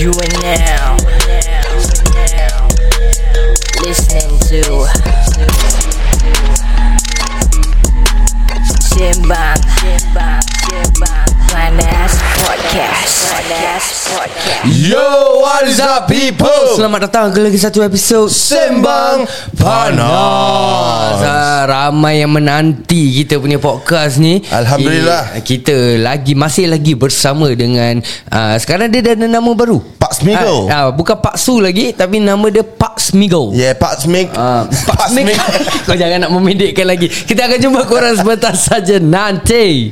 You are now listening to Sembang Panas Podcast. Yo, what is up people? Selamat datang ke lagi satu episod Sembang Panas. Ramai yang menanti kita punya podcast ni. Alhamdulillah. Kita masih lagi bersama dengan sekarang dia dah ada nama baru, Pak Smiggle. bukan Pak Su lagi, tapi nama dia Pak Smiggle. Yeah, Pak Smiggle. Pak Smiggle. Kau jangan nak memendekkan lagi. Kita akan jumpa korang sebentar saja nanti.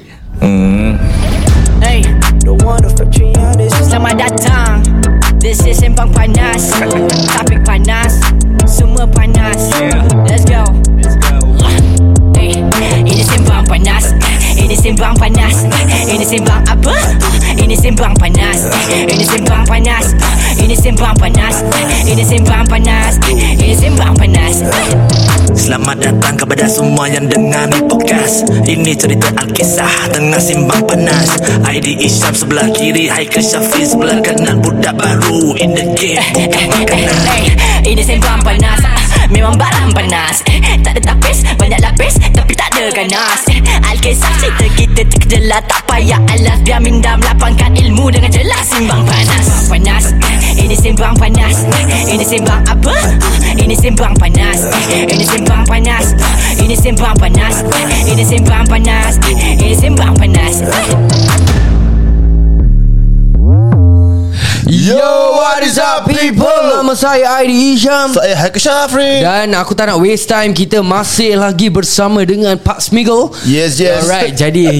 Hey, selamat datang. This is Sembang Panas. Topik panas, semua panas. Let's go. Hey, ini Sembang Panas. Ini Sembang Panas. Ini Sembang apa? Ini Sembang Panas. Ini Sembang Panas. Ini Sembang Panas. Ini Sembang Panas. Ini Sembang Panas. Selamat datang kepada semua yang dengar ni podcast. Ini cerita Alkisah tengah simbang panas. ID Isyam sebelah kiri, Haikal Syafiq sebelah kanan. Budak baru in the game, bukan makanan. Ini Sembang Panas. Memang barang panas. Tak ada tapis, banyak lapis, tapi tak ada ganas. Alkisah cerita kita terkejelah, tak payah alas. Biar minda melapangkan ilmu dengan jelas. Simbang Panas. Panas. Ini Sembang Panas. Ini Sembang apa? Ini Sembang Panas. Ini Sembang Panas. Ini Sembang Panas. Ini Sembang Panas. Ini Sembang Panas. Yo, what is up people? Nama saya Aidi Isyam. Saya Haikal Syafiq. Dan aku tak nak waste time. Kita masih lagi bersama dengan Pak Smiggle. Yes. Alright, jadi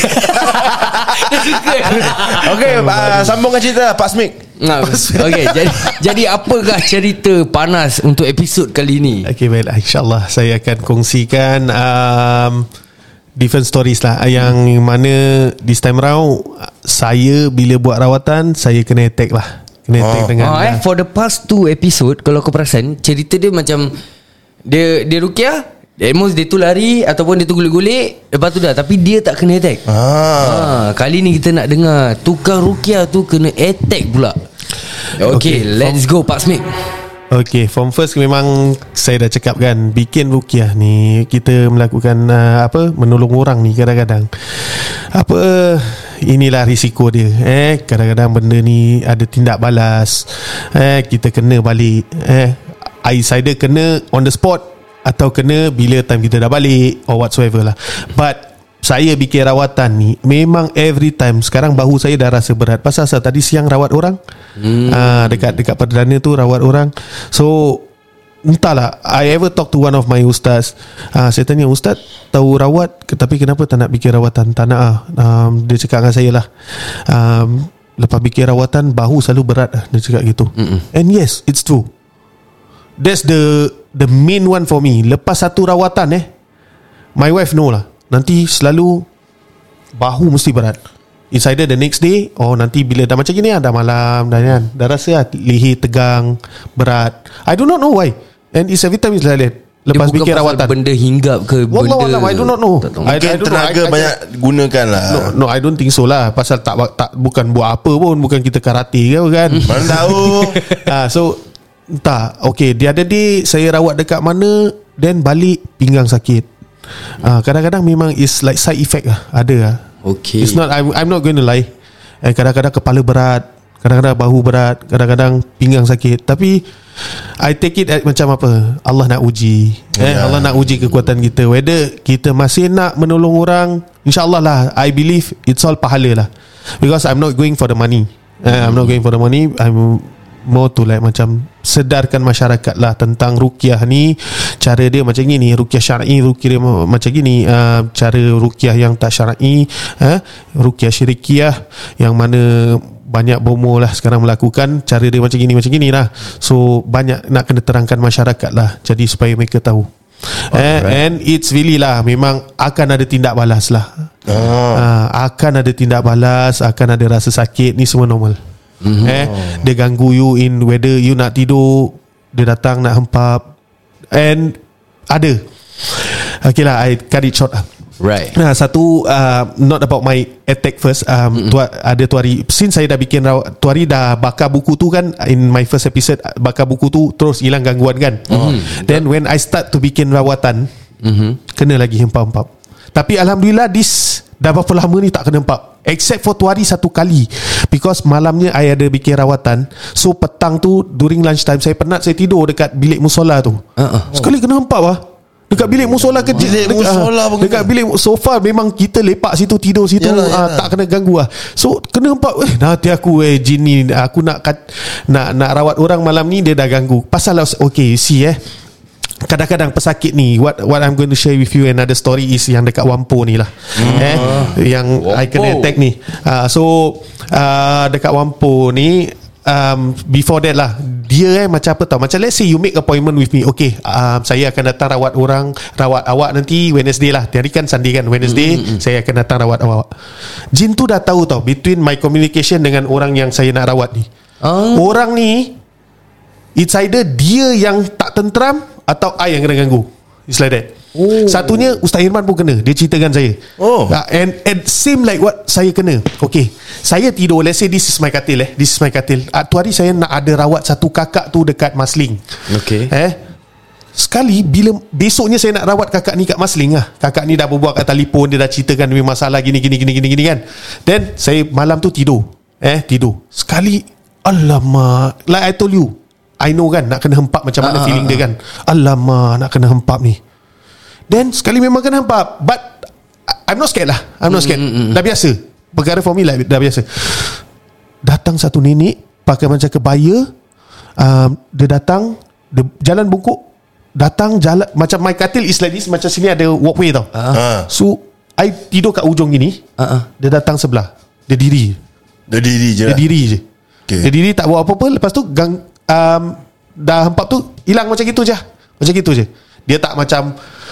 Okay, sambungkan cerita Pak Smig. Okay, jadi apakah cerita panas untuk episod kali ini? Okay, baiklah, InsyaAllah saya akan kongsikan different stories lah. Yang mana this time round saya bila buat rawatan, saya kena attack lah. Kena attack dengan for the past 2 episode, kalau kau perasan, cerita dia macam Dia rukiah, almost dia tu lari ataupun dia tu gulik-gulik, lepas tu dah, tapi dia tak kena attack. Kali ni kita nak dengar tukang rukiah tu kena attack pula. Okay, let's go Pak Smith. Okay, from first memang saya dah cakap kan, bikin rukiah ni kita melakukan menolong orang ni kadang-kadang inilah risiko dia. Kadang-kadang benda ni ada tindak balas. Kita kena balik. Either kena on the spot atau kena bila time kita dah balik or whatsoever lah. But saya bikin rawatan ni memang every time. Sekarang bahu saya dah rasa berat. Pasal tadi siang rawat orang, dekat Perdana tu rawat orang. So entahlah, I ever talk to one of my ustaz. Saya tanya, ustaz tahu rawat tapi kenapa tak nak bikin rawatan? Tak nak dia cakap dengan saya lah, lepas bikin rawatan bahu selalu berat. Dia cakap gitu. And yes, it's true. That's the main one for me. Lepas satu rawatan my wife know lah, nanti selalu bahu mesti berat. It's either the next day or nanti bila dah macam gini dah malam dah rasa leher tegang, berat. I do not know why. And it's every time it's like that. Lepas bikin rawatan, benda hinggap ke benda I do not know. Mungkin tenaga banyak gunakan lah. No, I don't think so lah. Pasal tak bukan buat apa pun. Bukan kita karate ke kan. Mana tahu. So entah. Okay, the other day saya rawat dekat mana, then balik pinggang sakit. Kadang-kadang memang is like side effect lah. Ada lah. Okay. It's not, I'm not going to lie. Kadang-kadang kepala berat, kadang-kadang bahu berat, kadang-kadang pinggang sakit. Tapi I take it macam apa, Allah nak uji. Allah nak uji kekuatan kita. Whether kita masih nak menolong orang, InsyaAllah lah, I believe it's all pahala lah. Because I'm not going for the money. I'm not going for the money. I'm more to like macam sedarkan masyarakat lah tentang ruqyah ni. Cara dia macam gini, ruqyah syar'i, ruqyah dia macam gini, cara ruqyah yang tak syar'i, ruqyah syirikiyah yang mana banyak bomo lah sekarang melakukan. Cara dia macam gini lah. So banyak nak kena terangkan masyarakat lah, jadi supaya mereka tahu. And it's really lah, memang akan ada tindak balas lah. Akan ada tindak balas, akan ada rasa sakit, ni semua normal. Dia ganggu you in whether you nak tidur, dia datang nak hempap. And ada, okay lah, I cut it short lah. Right. Nah, satu not about my attack first. Ada Tuari, since saya dah bikin Tuari dah bakar buku tu kan, in my first episode bakar buku tu terus hilang gangguan kan. Then when I start to bikin rawatan, kena lagi hempap-hempap. Tapi alhamdulillah dah berapa lama ni tak kena hempap, except for Tuari satu kali, because malamnya I ada bikin rawatan. So petang tu during lunch time saya penat, saya tidur dekat bilik musola tu. Sekali kena hempap lah dekat bilik musola ke dekat bilik sofa. Memang kita lepak situ, tidur situ. Yalah. Tak kena ganggu lah. So kena hempap. Nanti aku jin ni, aku nak rawat orang malam ni, dia dah ganggu. Pasal okay, see kadang-kadang pesakit ni, what I'm going to share with you another story is yang dekat Wampo ni lah. Yang Wampo. I kena attack ni. Dekat Wampo ni, before that lah, dia macam apa tau, macam let's say you make appointment with me. Okay, saya akan datang rawat awak nanti Wednesday lah. Hari kan Sunday kan, Wednesday saya akan datang rawat awak. Jin tu dah tahu tau between my communication dengan orang yang saya nak rawat ni. Orang ni, it's either dia yang tak tenteram atau I yang kena ganggu. It's like that. Satunya Ustaz Irman pun kena. Dia ceritakan saya. And same like what saya kena. Okay, saya tidur, let's say this is my katil. This is my katil. Tu hari saya nak ada rawat satu kakak tu dekat Marsiling. Okay. Sekali bila besoknya saya nak rawat kakak ni kat Marsiling lah, kakak ni dah berbual kat telefon, dia dah ceritakan dia masalah gini kan. Then saya malam tu tidur. Tidur. Sekali, alamak, like I told you, I know kan nak kena hempap macam mana feeling dia kan. Alamak, nak kena hempap ni. Then sekali memang kena hempap, but I'm not scared lah. I'm not scared. Dah biasa. Perkara for me lah, dah biasa. Datang satu nenek pakai macam kebaya. Dia datang, dia jalan bungkuk, datang jalan macam my katil is like this, macam sini ada walkway tau. So I tidur kat ujung gini. Dia datang sebelah. Dia diri je. Okay. Dia diri tak buat apa-apa. Lepas tu dah hempap tu hilang macam gitu je. Dia tak macam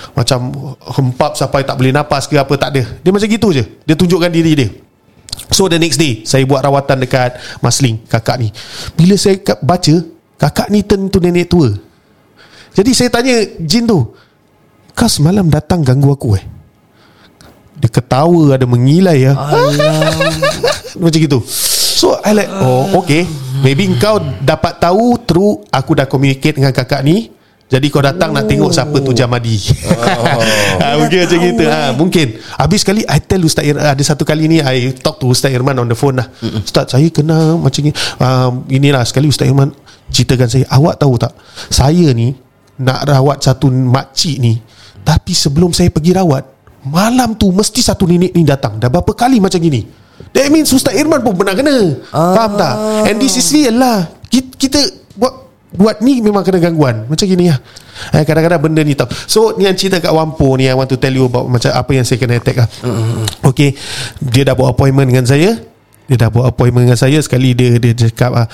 hempap sampai tak boleh napas ke apa, tak ada. Dia macam gitu je. Dia tunjukkan diri dia. So the next day saya buat rawatan dekat Marsiling, kakak ni. Bila saya baca, kakak ni turn to nenek tua. Jadi saya tanya jin tu, kau semalam datang ganggu aku Dia ketawa, ada mengilai macam gitu. So I like, okay, maybe kau dapat tahu through aku dah communicate dengan kakak ni. Jadi kau datang nak tengok siapa tu Jamadi. Mungkin macam gitu. Mungkin. Habis sekali I tell Ustaz Irman, ada satu kali ni I talk to Ustaz Irman on the phone lah. Ustaz, saya kena macam ni. Inilah sekali Ustaz Irman ceritakan saya, awak tahu tak, saya ni nak rawat satu makcik ni, tapi sebelum saya pergi rawat, malam tu mesti satu nenek ni datang. Dah berapa kali macam gini. That means Ustaz Irman pun pernah kena. Faham tak? And this is real lah. Kita buat ni memang kena gangguan macam gini lah. Kadang-kadang benda ni tau. So ni yang cerita kat Wampo ni, I want to tell you about macam apa yang saya kena attack lah. Okay, dia dah buat appointment dengan saya. Sekali dia cakap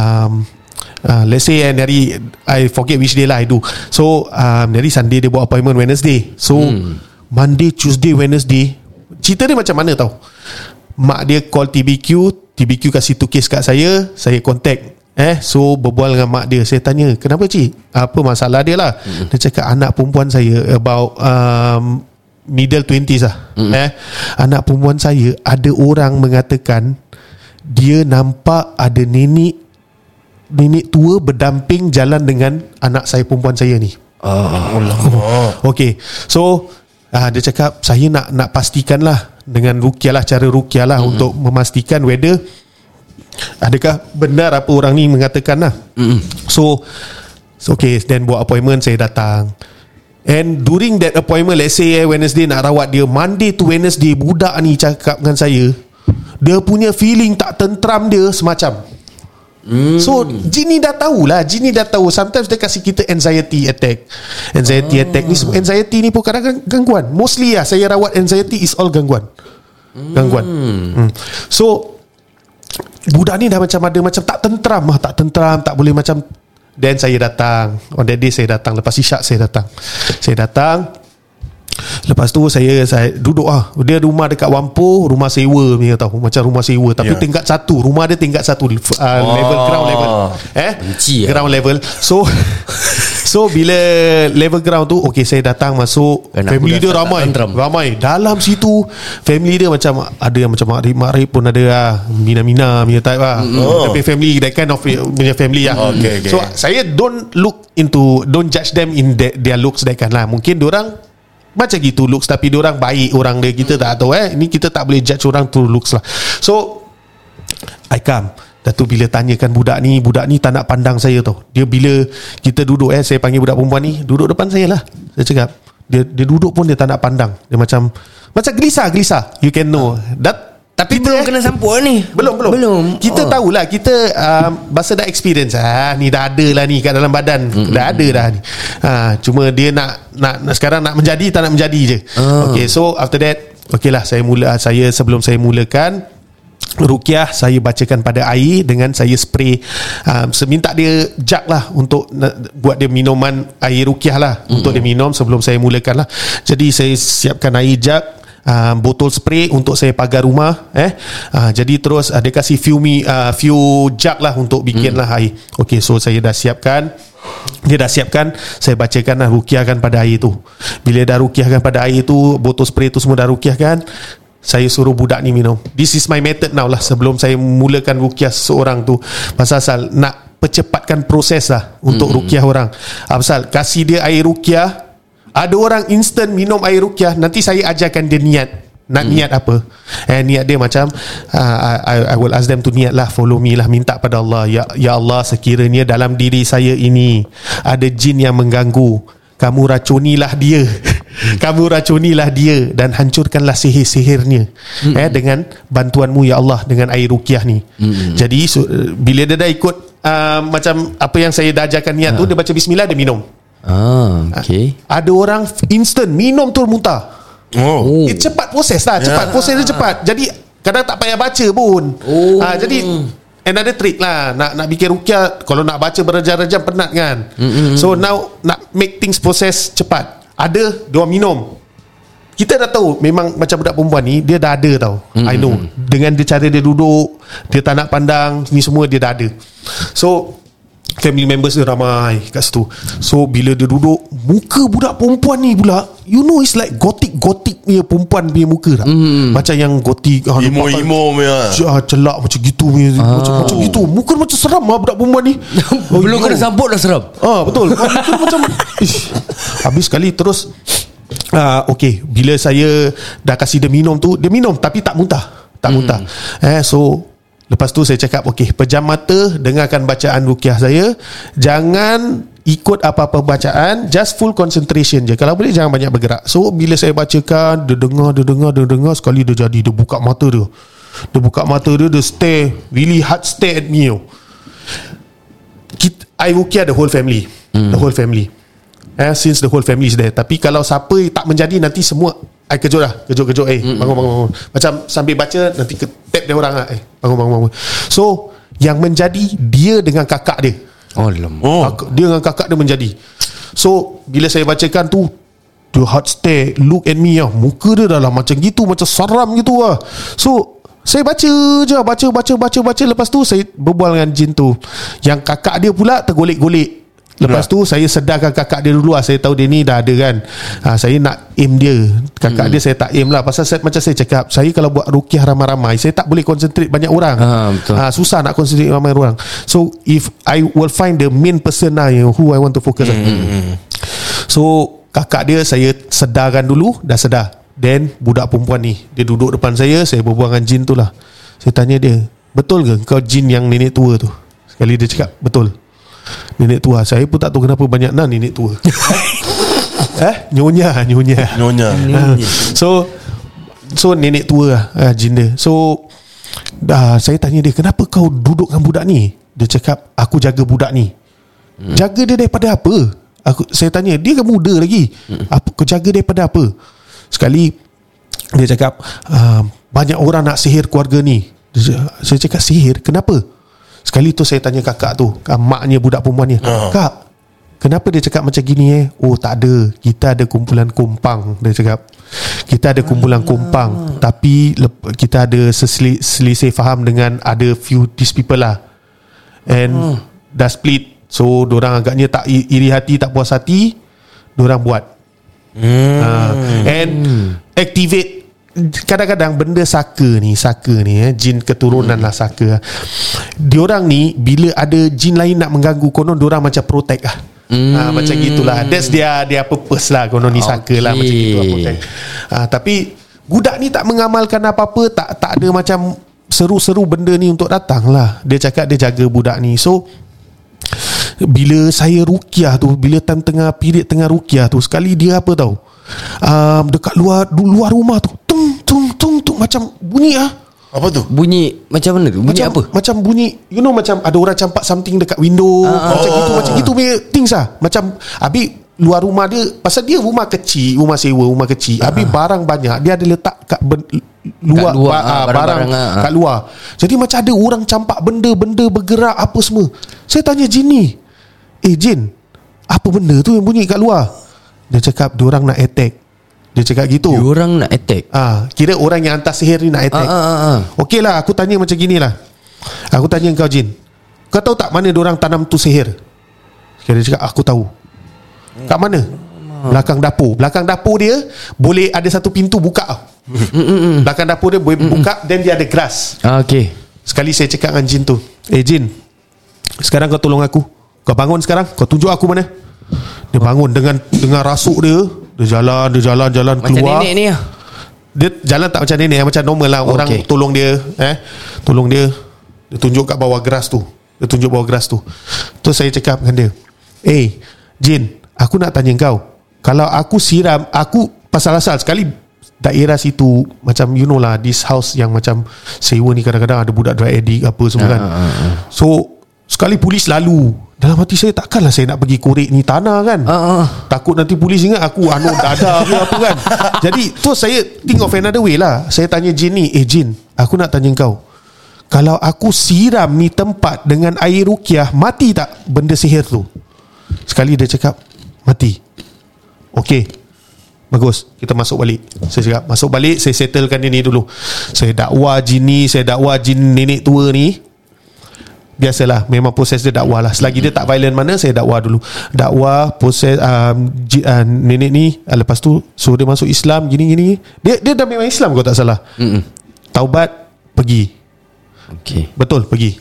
let's say hari I forget which day lah I do. So hari Sunday dia buat appointment Wednesday. So Monday, Tuesday, Wednesday, cerita dia macam mana tau. Mak dia call TBQ kasih tu case kat saya contact. So berbual dengan mak dia. Saya tanya, kenapa cik? Apa masalah dia lah? Dia cakap anak perempuan saya about middle 20s lah. Anak perempuan saya, ada orang mengatakan dia nampak ada nenek tua berdamping jalan dengan anak saya perempuan saya ni. Okay, so dia cakap saya nak pastikan lah dengan ruqyah lah, cara ruqyah lah untuk memastikan whether adakah benar apa orang ni mengatakan lah. So okay, then buat appointment, saya datang. And during that appointment, let's say Wednesday nak rawat dia, Monday to Wednesday budak ni cakap dengan saya, dia punya feeling tak tentram dia semacam. So jin ni dah tahu. Sometimes dia kasih kita anxiety attack ni. Anxiety ni pun kadang-kadang gangguan. Mostly lah saya rawat anxiety is all gangguan. So budak ni dah macam ada macam tak tentram, tak boleh macam. Then saya datang. On that day saya datang, lepas isyak saya datang. Lepas tu saya duduk dia rumah dekat Whampoa, rumah sewa punya tahu, macam rumah sewa tapi tingkat 1, rumah dia tingkat 1, level ground level. Benci ground level. So bila level ground tu, okay, saya datang masuk, family dia ramai dalam situ. Family dia macam ada yang macam makrib pun ada Mina punya type tapi family that kind of punya family Okay. So saya don't judge them in their looks that kan lah. Mungkin diorang macam gitu looks, tapi diorang baik orang dia, kita tak tahu ni kita tak boleh judge orang through looks lah. So I come. Dan tu bila tanyakan budak ni tak nak pandang saya tau. Dia bila kita duduk saya panggil budak perempuan ni duduk depan saya lah. Saya cakap dia duduk pun dia tak nak pandang. Dia macam gelisah. You can know that. Tapi kita, belum kena sampul ni. Belum. Kita tahulah, kita masa dah experience ni dah ada lah ni kat dalam badan. Dah ada dah ni. Cuma dia nak sekarang nak menjadi, tak nak menjadi je. Okay, so after that, okay lah, sebelum saya mulakan ruqyah, saya bacakan pada air dengan saya spray. Minta dia jug lah untuk buat dia minuman air ruqyah lah, untuk dia minum sebelum saya mulakan lah. Jadi saya siapkan air jug, botol spray untuk saya pagar rumah. Jadi terus dia kasih few jug lah untuk bikin lah air. Okay, so saya dah siapkan. Dia dah siapkan, saya bacakan lah, ruqyahkan pada air tu. Bila dah ruqyahkan pada air tu, botol spray tu semua dah ruqyahkan, saya suruh budak ni minum. This is my method now lah, sebelum saya mulakan ruqyah seorang tu. Pasal nak percepatkan proses lah untuk ruqyah orang. Pasal kasih dia air ruqyah, ada orang instant minum air ruqyah, nanti saya ajarkan dia niat. Nak niat apa? Niat dia macam I will ask them to niat lah, follow me lah, minta pada Allah, ya Allah, sekiranya dalam diri saya ini ada jin yang mengganggu, kamu racunilah dia. Kamu racunilah dia dan hancurkanlah sihir-sihirnya dengan bantuanmu ya Allah, dengan air ruqyah ni. Jadi bila dia dah ikut macam apa yang saya dah ajarkan niat tu, dia baca bismillah, dia minum. Okay. Ada orang instant minum tu muntah. Cepat proses lah, proses dia cepat. Jadi kadang tak payah baca pun. Jadi another trick lah, nak bikin ruqyah, kalau nak baca berjam-jam penat kan. So now nak make things proses cepat. Ada dia minum, kita dah tahu memang macam budak perempuan ni dia dah ada tau. I know, dengan dia cara dia duduk, dia tak nak pandang, ni semua dia dah ada. So family members dia ramai kat situ. So bila dia duduk, muka budak perempuan ni pula, you know, it's like gothic punya perempuan punya muka tak? Macam yang gothic, emo punya, celak macam gitu punya, macam gitu. Muka macam seram lah budak perempuan ni. Belum kena sambut dah seram. Betul. Muka macam habis sekali. Terus okay, bila saya dah kasih dia minum tu, dia minum tapi tak muntah. So lepas tu saya cakap, okay, pejam mata, dengarkan bacaan ruqyah saya, jangan ikut apa-apa bacaan, just full concentration je. Kalau boleh jangan banyak bergerak. So bila saya bacakan, dia dengar, sekali dia jadi, dia buka mata dia. Dia stare, really hard stare at me. I ruqyah the whole family. The whole family. Since the whole family is there. Tapi kalau siapa tak menjadi, nanti semua I kejut. Bangun. Macam sambil baca, nanti tap dia orang lah, bangun. So yang menjadi dia dengan kakak dia. Dia dengan kakak dia menjadi. So bila saya bacakan tu, dia hard stare, look at me lah. Muka dia dah lah macam gitu, macam seram gitu lah. So saya baca je, baca. Lepas tu saya berbual dengan jin tu. Yang kakak dia pula tergolek-golek. Lepas tu saya sedarkan kakak dia dulu lah. Saya tahu dia ni dah ada kan. Saya nak aim dia. Kakak dia saya tak aim lah. Pasal macam saya cakap, saya kalau buat ruqyah ramai-ramai, saya tak boleh concentrate banyak orang. Susah nak concentrate ramai orang. So if I will find the main person lah, who I want to focus on. So kakak dia saya sedarkan dulu. Dah sedar. Then budak perempuan ni, dia duduk depan saya berbual dengan jin tu lah. Saya tanya dia, betul ke kau jin yang nenek tua tu? Sekali dia cakap, betul. Nenek tua. Saya pun tak tahu kenapa banyak nenek tua. Nyonya. So nenek tua lah, jin dia. So saya tanya dia, kenapa kau duduk dengan budak ni? Dia cakap, aku jaga budak ni. Jaga dia daripada apa? Saya tanya, dia kan muda lagi. Kau jaga daripada apa? Sekali dia cakap, banyak orang nak sihir keluarga ni. Saya cakap, sihir? Kenapa? Sekali tu saya tanya kakak tu, maknya budak perempuan ni, Kak, kenapa dia cakap macam gini Oh tak ada, kita ada kumpulan kompang. Dia cakap kita ada kumpulan kompang, tapi kita ada selisih faham dengan ada few these people lah, and dah split. So dorang agaknya tak iri hati, tak puas hati, dorang buat and activate. Kadang-kadang benda saka ni jin keturunan lah saka. Diorang ni bila ada jin lain nak mengganggu, konon diorang macam protect lah. Macam gitulah. That's dia purpose lah. Konon ni saka lah, macam gitu lah, protect. Tapi budak ni tak mengamalkan apa-apa, tak ada macam seru-seru benda ni untuk datang lah. Dia cakap dia jaga budak ni. So bila saya ruqyah tu, bila time period tengah ruqyah tu, sekali dia apa tahu, dekat luar rumah tu tung macam bunyi Apa tu? Bunyi macam mana tu? Bunyi macam, apa? Macam bunyi, you know, macam ada orang campak something dekat window, macam gitu punya things lah. Macam habis luar rumah dia, pasal dia rumah kecil, rumah sewa, rumah kecil. Habis barang banyak, dia ada letak kat luar, barang kat luar. Jadi macam ada orang campak benda bergerak apa semua. Saya tanya Jin ni, Jin, apa benda tu yang bunyi kat luar? Dia cakap diorang nak attack. Dia cakap gitu. Diorang nak attack. Kira orang yang hantar sihir ni nak attack. Okey lah, aku tanya macam gini lah. Aku tanya kau Jin, kau tahu tak mana diorang tanam tu sihir? Dia cakap aku tahu. Kat mana? Belakang dapur. Belakang dapur dia boleh ada satu pintu buka. Belakang dapur dia boleh buka, dan dia ada grass. Okay. Sekali saya cakap dengan Jin tu, Jin, sekarang kau tolong aku. Kau bangun sekarang, kau tunjuk aku mana. Dia bangun dengan rasuk dia. Dia jalan keluar. Macam nenek ni lah. Dia jalan tak macam nenek, macam normal lah. Orang tolong dia, tolong dia. Dia tunjuk kat bawah grass tu. Terus saya cakap dengan dia, Jin, aku nak tanya kau, kalau aku siram, aku pasal-asal sekali daerah situ, macam you know lah, this house yang macam sewa ni kadang-kadang ada budak drug addict apa semua kan. So sekali polis lalu, dalam hati saya, takkanlah saya nak pergi korek ni tanah kan. Takut nanti polis ingat aku anut dada ke apa kan. Jadi tu saya think of another way lah. Saya tanya Jin ni, Jin, aku nak tanya kau, kalau aku siram ni tempat dengan air ruqyah, mati tak benda sihir tu? Sekali dia cakap mati. Okey, bagus, kita masuk balik. Saya cakap masuk balik, saya settlekan dia ni dulu. Saya dakwa jin ni, saya dakwa jin nenek tua ni. Biasalah, memang proses dia dakwah lah. Selagi dia tak violent mana, saya dakwah dulu. Dakwah, proses nenek ni. Lepas tu suruh dia masuk Islam, gini-gini. Dia dah memang Islam kalau tak salah. Taubat, pergi. Betul, pergi.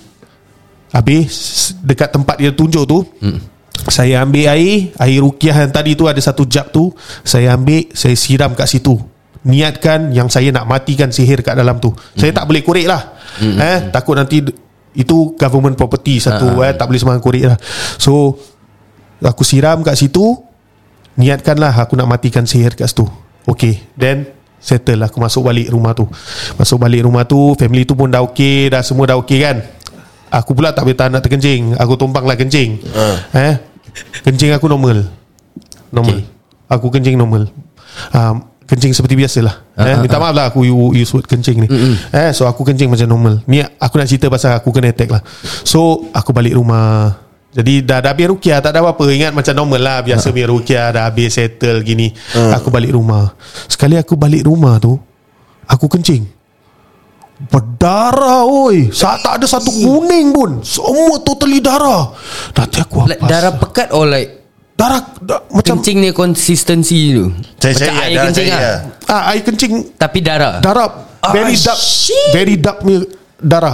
Habis dekat tempat dia tunjuk tu, saya ambil air ruqyah yang tadi tu, ada satu jug tu, saya ambil, saya siram kat situ. Niatkan yang saya nak matikan sihir kat dalam tu. Saya tak boleh korek lah. Takut nanti itu government property satu, tak boleh sembarang korek lah. So aku siram kat situ, niatkanlah aku nak matikan sihir kat situ. Okay, then settle lah. Aku masuk balik rumah tu. Family tu pun dah okay, dah semua dah okay kan. Aku pula tak boleh tahan nak terkencing. Aku tumpang lah kencing. Kencing aku normal. Aku kencing normal. Kencing seperti biasalah. Minta maaf lah aku use word kencing ni. So aku kencing macam normal. Ni aku nak cerita pasal aku kena attack lah. So aku balik rumah. Jadi dah habis ruqyah, tak ada apa-apa. Ingat macam normal lah, biasa punya ruqyah, dah habis settle gini. Aku balik rumah. Sekali aku balik rumah tu, aku kencing, berdarah oi. Tak ada satu kuning pun, semua totally darah. Nanti aku apa? Darah pekat or like darah macam kencing ni konsistensi tu. Macam air kencing lah. Air kencing tapi darah very dark, very dark punya darah.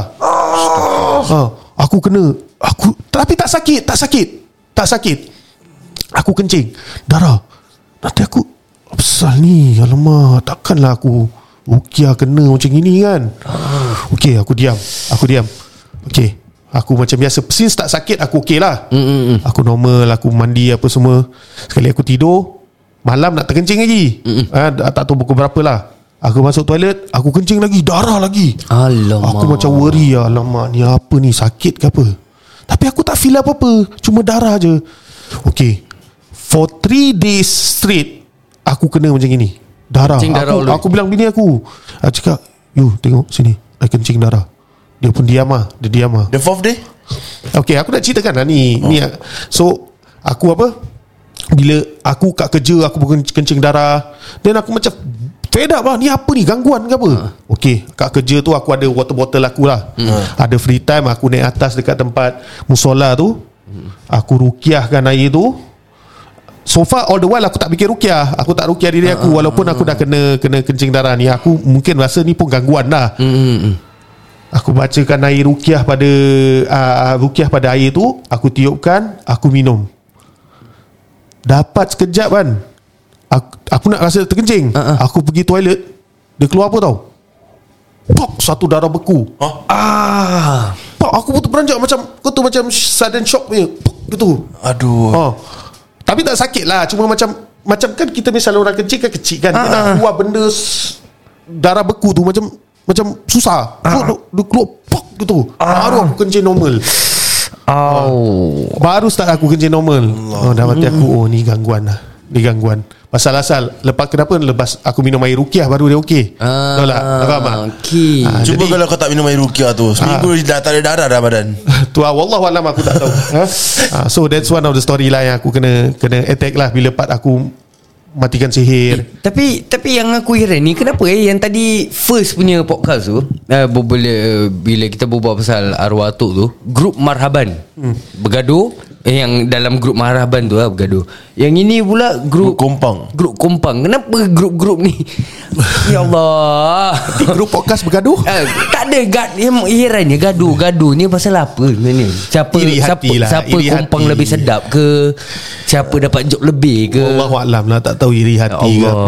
Aku kena, tapi tak sakit. Aku kencing darah. Nanti aku, apa pasal ni? Alamak, takkanlah aku ruqyah kena macam gini kan. Okay, aku diam. Okay, aku macam biasa. Since tak sakit, aku okay lah. Aku normal, aku mandi apa semua. Sekali aku tidur, malam nak terkencing lagi. Tak tahu pukul berapa lah. Aku masuk toilet, aku kencing lagi, darah lagi. Alamak. Aku macam worry, alamak, ni apa ni, sakit ke apa? Tapi aku tak feel apa-apa, cuma darah je. Okay, for 3 days straight aku kena macam gini, darah. Aku bilang bini aku cakap, you tengok sini, I kencing darah. Dia pun diam lah. The 4th day? Okay, aku nak ceritakan lah ni. So Aku bila aku kat kerja aku kencing darah, then aku macam fed up lah, ni apa ni, gangguan ke apa. Okay, kat kerja tu aku ada water bottle aku lah. Ada free time, aku naik atas dekat tempat musola tu, aku rukiahkan air tu. So far all the while aku tak fikir rukiah, aku tak rukiah diri aku, walaupun aku dah kena kencing darah ni. Aku mungkin rasa ni pun gangguan dah. Aku bacakan air rukiah pada air tu, aku tiupkan, aku minum. Dapat sekejap kan, aku nak rasa terkencing. Aku pergi toilet, dia keluar apa tau? Pok, satu darah beku. Pok, aku betul beranjak macam sudden shock punya. Pok, gitu. Aduh. Tapi tak sakit lah, cuma macam kan kita misalnya orang kecil kan dia nak keluar benda darah beku tu macam susah. Dia keluar pok gitu. Baru aku kencing normal. Baru start aku kencing normal. Dalam hati aku, ni gangguan lah. Ni gangguan. Pasal lepas aku minum air rukiah baru dia okey. Tahu tak? Faham tak? Okay. Cuba kalau kau tak minum air rukiah tu, seminggu dah tak ada darah dah badan. Tu wallahualam aku tak tahu. So that's one of the story lah yang aku kena attack lah bila part aku matikan sihir. Tapi yang aku heran ni, kenapa yang tadi first punya podcast tu, bila kita berbual pasal arwah atuk tu, grup marhaban bergaduh, yang dalam grup marhaban tu lah bergaduh. Yang ini pula grup kompang. Kenapa grup-grup ni? Ya Allah. Grup podcast bergaduh? Tak ada herannya gaduh ni pasal apa sebenarnya? Siapa kompang lebih sedap ke? Siapa dapat job lebih ke? Wallahualam lah, tak tahu iri hati ke.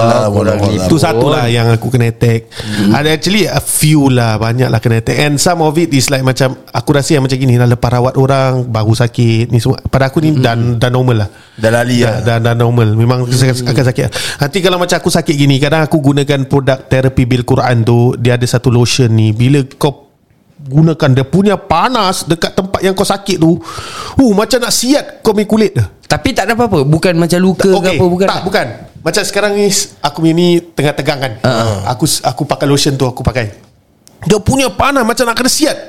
Itu satu lah yang aku kena attack. Ada actually a few lah, banyak lah kena attack. And some of it is like macam aku rasa yang macam gini lah, lepas rawat orang baru sakit ni semua. Pada aku ni dan normal lah. Dah lali lah. Dan normal. Memang akan sakit. Nanti kalau macam aku sakit gini, kadang aku gunakan produk terapi bil Quran tu. Dia ada satu lotion ni, bila kau gunakan dia punya panas dekat tempat yang kau sakit tu, macam nak siat kau punya kulit dah. Tapi tak ada apa-apa. Bukan macam luka ke apa? Bukan. Macam sekarang ni aku ni tengah tegang kan. Aku pakai lotion tu, aku pakai. Dia punya panas macam nak kena siat.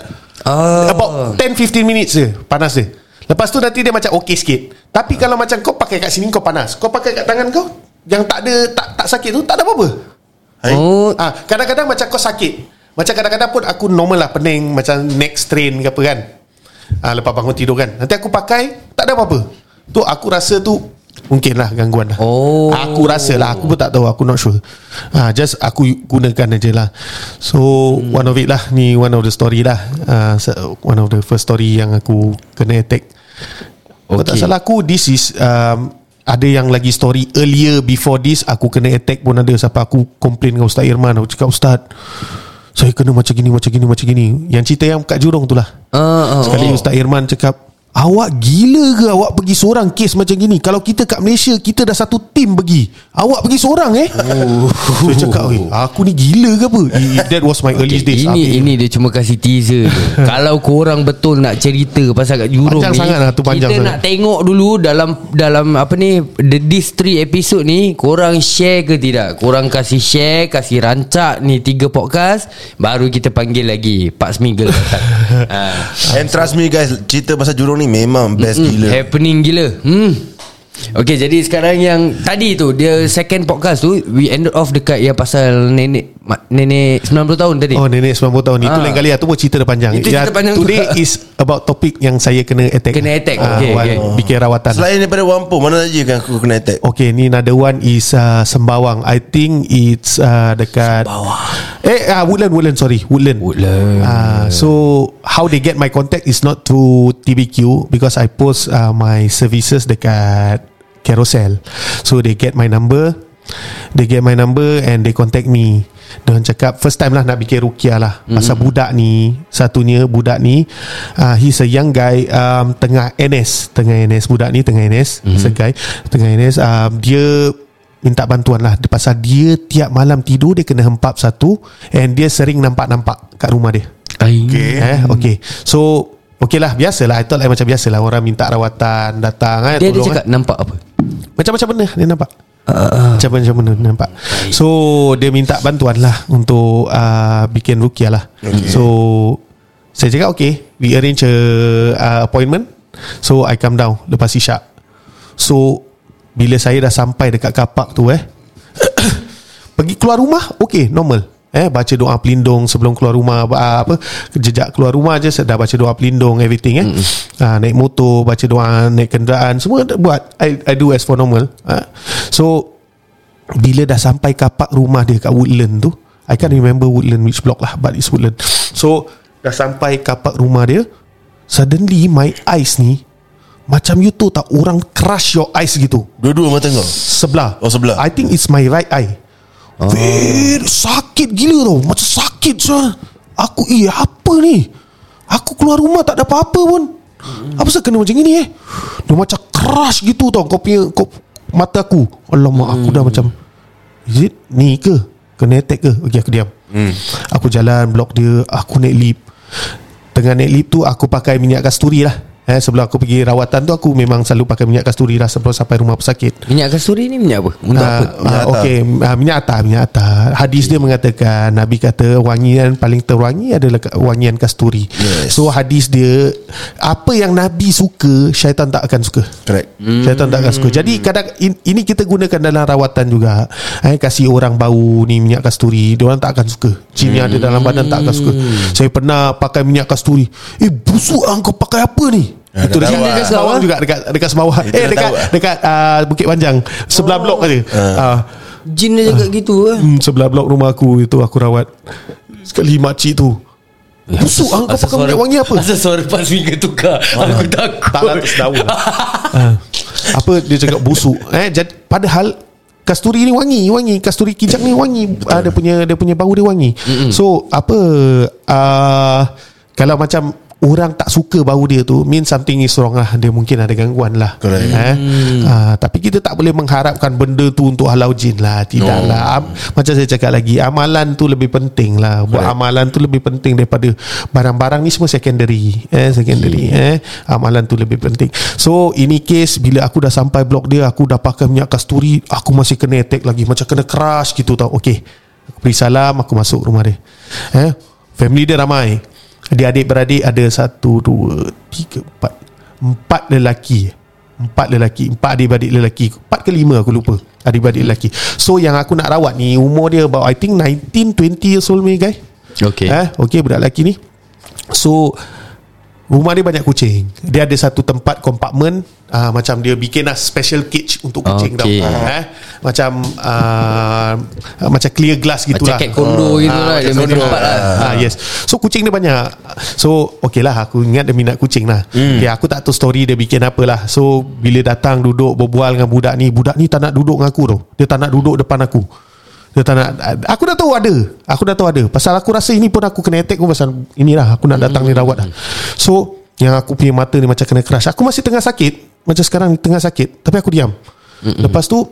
About 10-15 minutes je panas dia. Lepas tu nanti dia macam okey sikit. Tapi kalau macam kau pakai kat sini kau panas, kau pakai kat tangan kau yang tak ada tak sakit tu, tak ada apa-apa. Kadang-kadang macam kau sakit, macam kadang-kadang pun aku normal lah, pening macam neck strain ke apa kan. Lepas bangun tidur kan, nanti aku pakai, tak ada apa-apa. Tu aku rasa tu mungkin lah gangguan lah. Aku rasa lah, aku pun tak tahu, aku not sure. Just aku gunakan aje lah. So one of it lah, ni one of the story lah. One of the first story yang aku kena attack. Kalau tak salah aku, this is ada yang lagi story earlier before this, aku kena attack pun ada. Sampai aku komplain dengan Ustaz Irman. Aku cakap, Ustaz, saya kena macam gini. Yang cerita yang kat Jurong tu lah. Sekali Ustaz Irman cakap, awak gila ke awak pergi seorang kes macam gini? Kalau kita kat Malaysia, kita dah satu tim pergi, awak pergi seorang So cakap, aku ni gila ke apa? That was my early days. Ini dia cuma kasih teaser je. Kalau korang betul nak cerita pasal kat Jurong panjang ni, sangat lah, tu panjang kita sangat. Nak tengok dulu dalam apa ni, this 3 episode ni, korang share ke tidak? Korang kasih share, kasih rancak ni 3 podcast, baru kita panggil lagi Pak Smiggle datang. And trust me guys, cerita pasal Jurong ni memang best gila. Happening gila. Okay, jadi sekarang yang tadi tu, dia second podcast tu, we ended off dekat yang pasal nenek 90 tahun tadi. Nenek 90 tahun. Itu lain kali lah. Tu pun cerita dah panjang. Itu cerita panjang. Today is about topik yang saya kena attack. Okay. Bikin rawatan. Selain daripada Wampo, mana lagi kan aku kena attack? Okay, ni another one is Sembawang. I think it's dekat Woodland. So how they get my contact is not through TBQ, because I post my services dekat Carousel. So they get my number and they contact me. Diorang cakap first time lah nak bikin ruqyah lah. Pasal budak ni, he's a young guy, tengah NS. Budak ni tengah NS. Segai tengah NS. Dia minta bantuan lah, pasal dia tiap malam tidur dia kena hempap satu, and dia sering nampak kat rumah dia. Okay. So okay lah, biasalah. I thought like macam biasalah, orang minta rawatan datang dia cakap nampak apa? Macam-macam benda dia nampak. Macam-macam benda dia nampak. So dia minta bantuan lah untuk bikin ruqyah lah. So saya cakap okay, we arrange a appointment. So I come down lepas isyak. So bila saya dah sampai dekat kapak tu pergi keluar rumah, okay, normal. Baca doa pelindung sebelum keluar rumah, jejak keluar rumah je dah baca doa pelindung, everything. Naik motor, baca doa, naik kenderaan, semua buat. I do as for normal. So bila dah sampai kapak rumah dia kat Woodland tu, I can't remember Woodland which block lah, but it's Woodland. So dah sampai kapak rumah dia, suddenly my eyes ni macam you tahu tak, orang crush your eyes gitu. Dua-dua mata kau? Sebelah. Oh, sebelah. I think it's my right eye. Very sakit gila tau. Macam sakit so. Aku apa ni? Aku keluar rumah tak ada apa-apa pun. Apa sebab kena macam ni Dia macam crush gitu tau. Kau punya mata aku. Alamak, aku dah macam, is it ni ke? Kena attack ke? Okay, aku diam. Aku jalan blok dia. Aku naik lift. Tengah naik lift tu aku pakai minyak kasturi lah. Sebelum aku pergi rawatan tu, aku memang selalu pakai minyak kasturi lah sebelum sampai rumah pesakit. Minyak kasturi ni minyak apa? Untuk apa? Minyak atar. Hadis dia mengatakan, Nabi kata wangian paling terwangi adalah wangian kasturi. So hadis dia, apa yang Nabi suka, syaitan tak akan suka. Correct. Syaitan tak akan suka. Jadi kadang ini kita gunakan dalam rawatan juga. Kasih orang bau ni minyak kasturi, dia orang tak akan suka. Jin yang ada dalam badan tak akan suka. Saya pernah pakai minyak kasturi. Busuk kau pakai apa ni? Itu dekat Sembawang juga, dekat Sembawang. Dekat Bukit Panjang, sebelah blok aja. Jin dia cakap gitu sebelah blok rumah aku itu aku rawat. Sekali makcik tu, busuk kau pakai minyak wangi apa? Asal suara pas minggu tukar. Aku takut. Tak nak tersedawa. Apa dia cakap busuk. Padahal kasturi ni wangi. Kasturi kijang ni wangi. Dia punya bau dia wangi. So apa, kalau macam orang tak suka bau dia tu, mean something is wrong lah. Dia mungkin ada gangguan lah. Tapi kita tak boleh mengharapkan benda tu untuk halau jin lah. Tidak lah. Macam saya cakap lagi, amalan tu lebih penting lah. Buat amalan tu lebih penting daripada barang-barang ni semua secondary. Amalan tu lebih penting. So ini case, bila aku dah sampai blok dia, aku dah pakai minyak kasturi, aku masih kena attack lagi, macam kena crush gitu tau. Okay, aku beri salam, aku masuk rumah dia. Family dia ramai. Dia adik-beradik ada 1, 2, 3, 4 lelaki. 4 adik-beradik lelaki. 4 ke 5 aku lupa, adik-beradik lelaki. So yang aku nak rawat ni, umur dia about I think 19-20 years old ni guys. Okay, budak lelaki ni. So rumah dia banyak kucing. Dia ada satu tempat kompartmen, macam dia bikin lah special cage untuk kucing tau. Macam clear glass gitulah. Macam cat kondo gitulah. Dia main tempat lah. Yes. So kucing dia banyak. So okay lah, aku ingat dia minat kucing lah. Aku tak tahu story dia bikin apa lah. So bila datang duduk berbual dengan budak ni tak nak duduk dengan aku tau. Dia tak nak duduk depan aku. Dia tak nak. Aku dah tahu ada. Pasal aku rasa ini pun aku kena attack pun pasal inilah. Aku nak datang ni rawat lah. So yang aku punya mata ni macam kena crush. Aku masih tengah sakit, macam sekarang tengah sakit, tapi aku diam. Lepas tu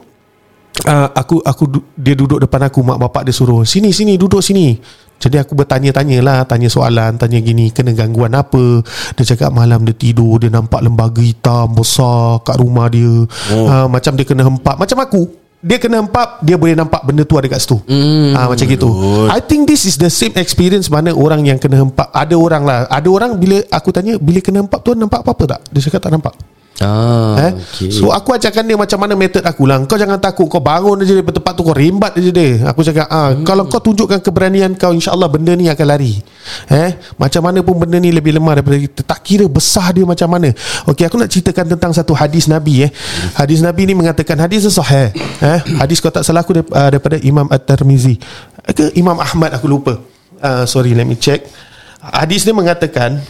dia duduk depan aku. Mak bapak dia suruh, Sini duduk sini. Jadi aku bertanya-tanya lah, tanya soalan, tanya gini, kena gangguan apa. Dia cakap malam dia tidur, dia nampak lembaga hitam besar kat rumah dia. Macam dia kena hempap. Macam aku, dia kena hempap, dia boleh nampak benda tu ada kat situ. Macam gitu. I think this is the same experience mana orang yang kena hempap. Ada orang bila aku tanya, bila kena hempap tu nampak apa-apa tak? Dia cakap tak nampak. Okay. So aku ajarkan dia macam mana method aku lah. Kau jangan takut, kau bangun aja daripada tempat tu, kau rembat aja dia. Aku cakap kalau kau tunjukkan keberanian kau, InsyaAllah benda ni akan lari. Macam mana pun benda ni lebih lemah daripada kita. Tak kira besar dia macam mana. Okay, aku nak ceritakan tentang satu hadis Nabi. Hadis Nabi ni mengatakan, hadis sahih. Hadis kalau tak salah aku daripada Imam At-Tirmizi ke Imam Ahmad, aku lupa. Sorry, let me check. Hadis ni mengatakan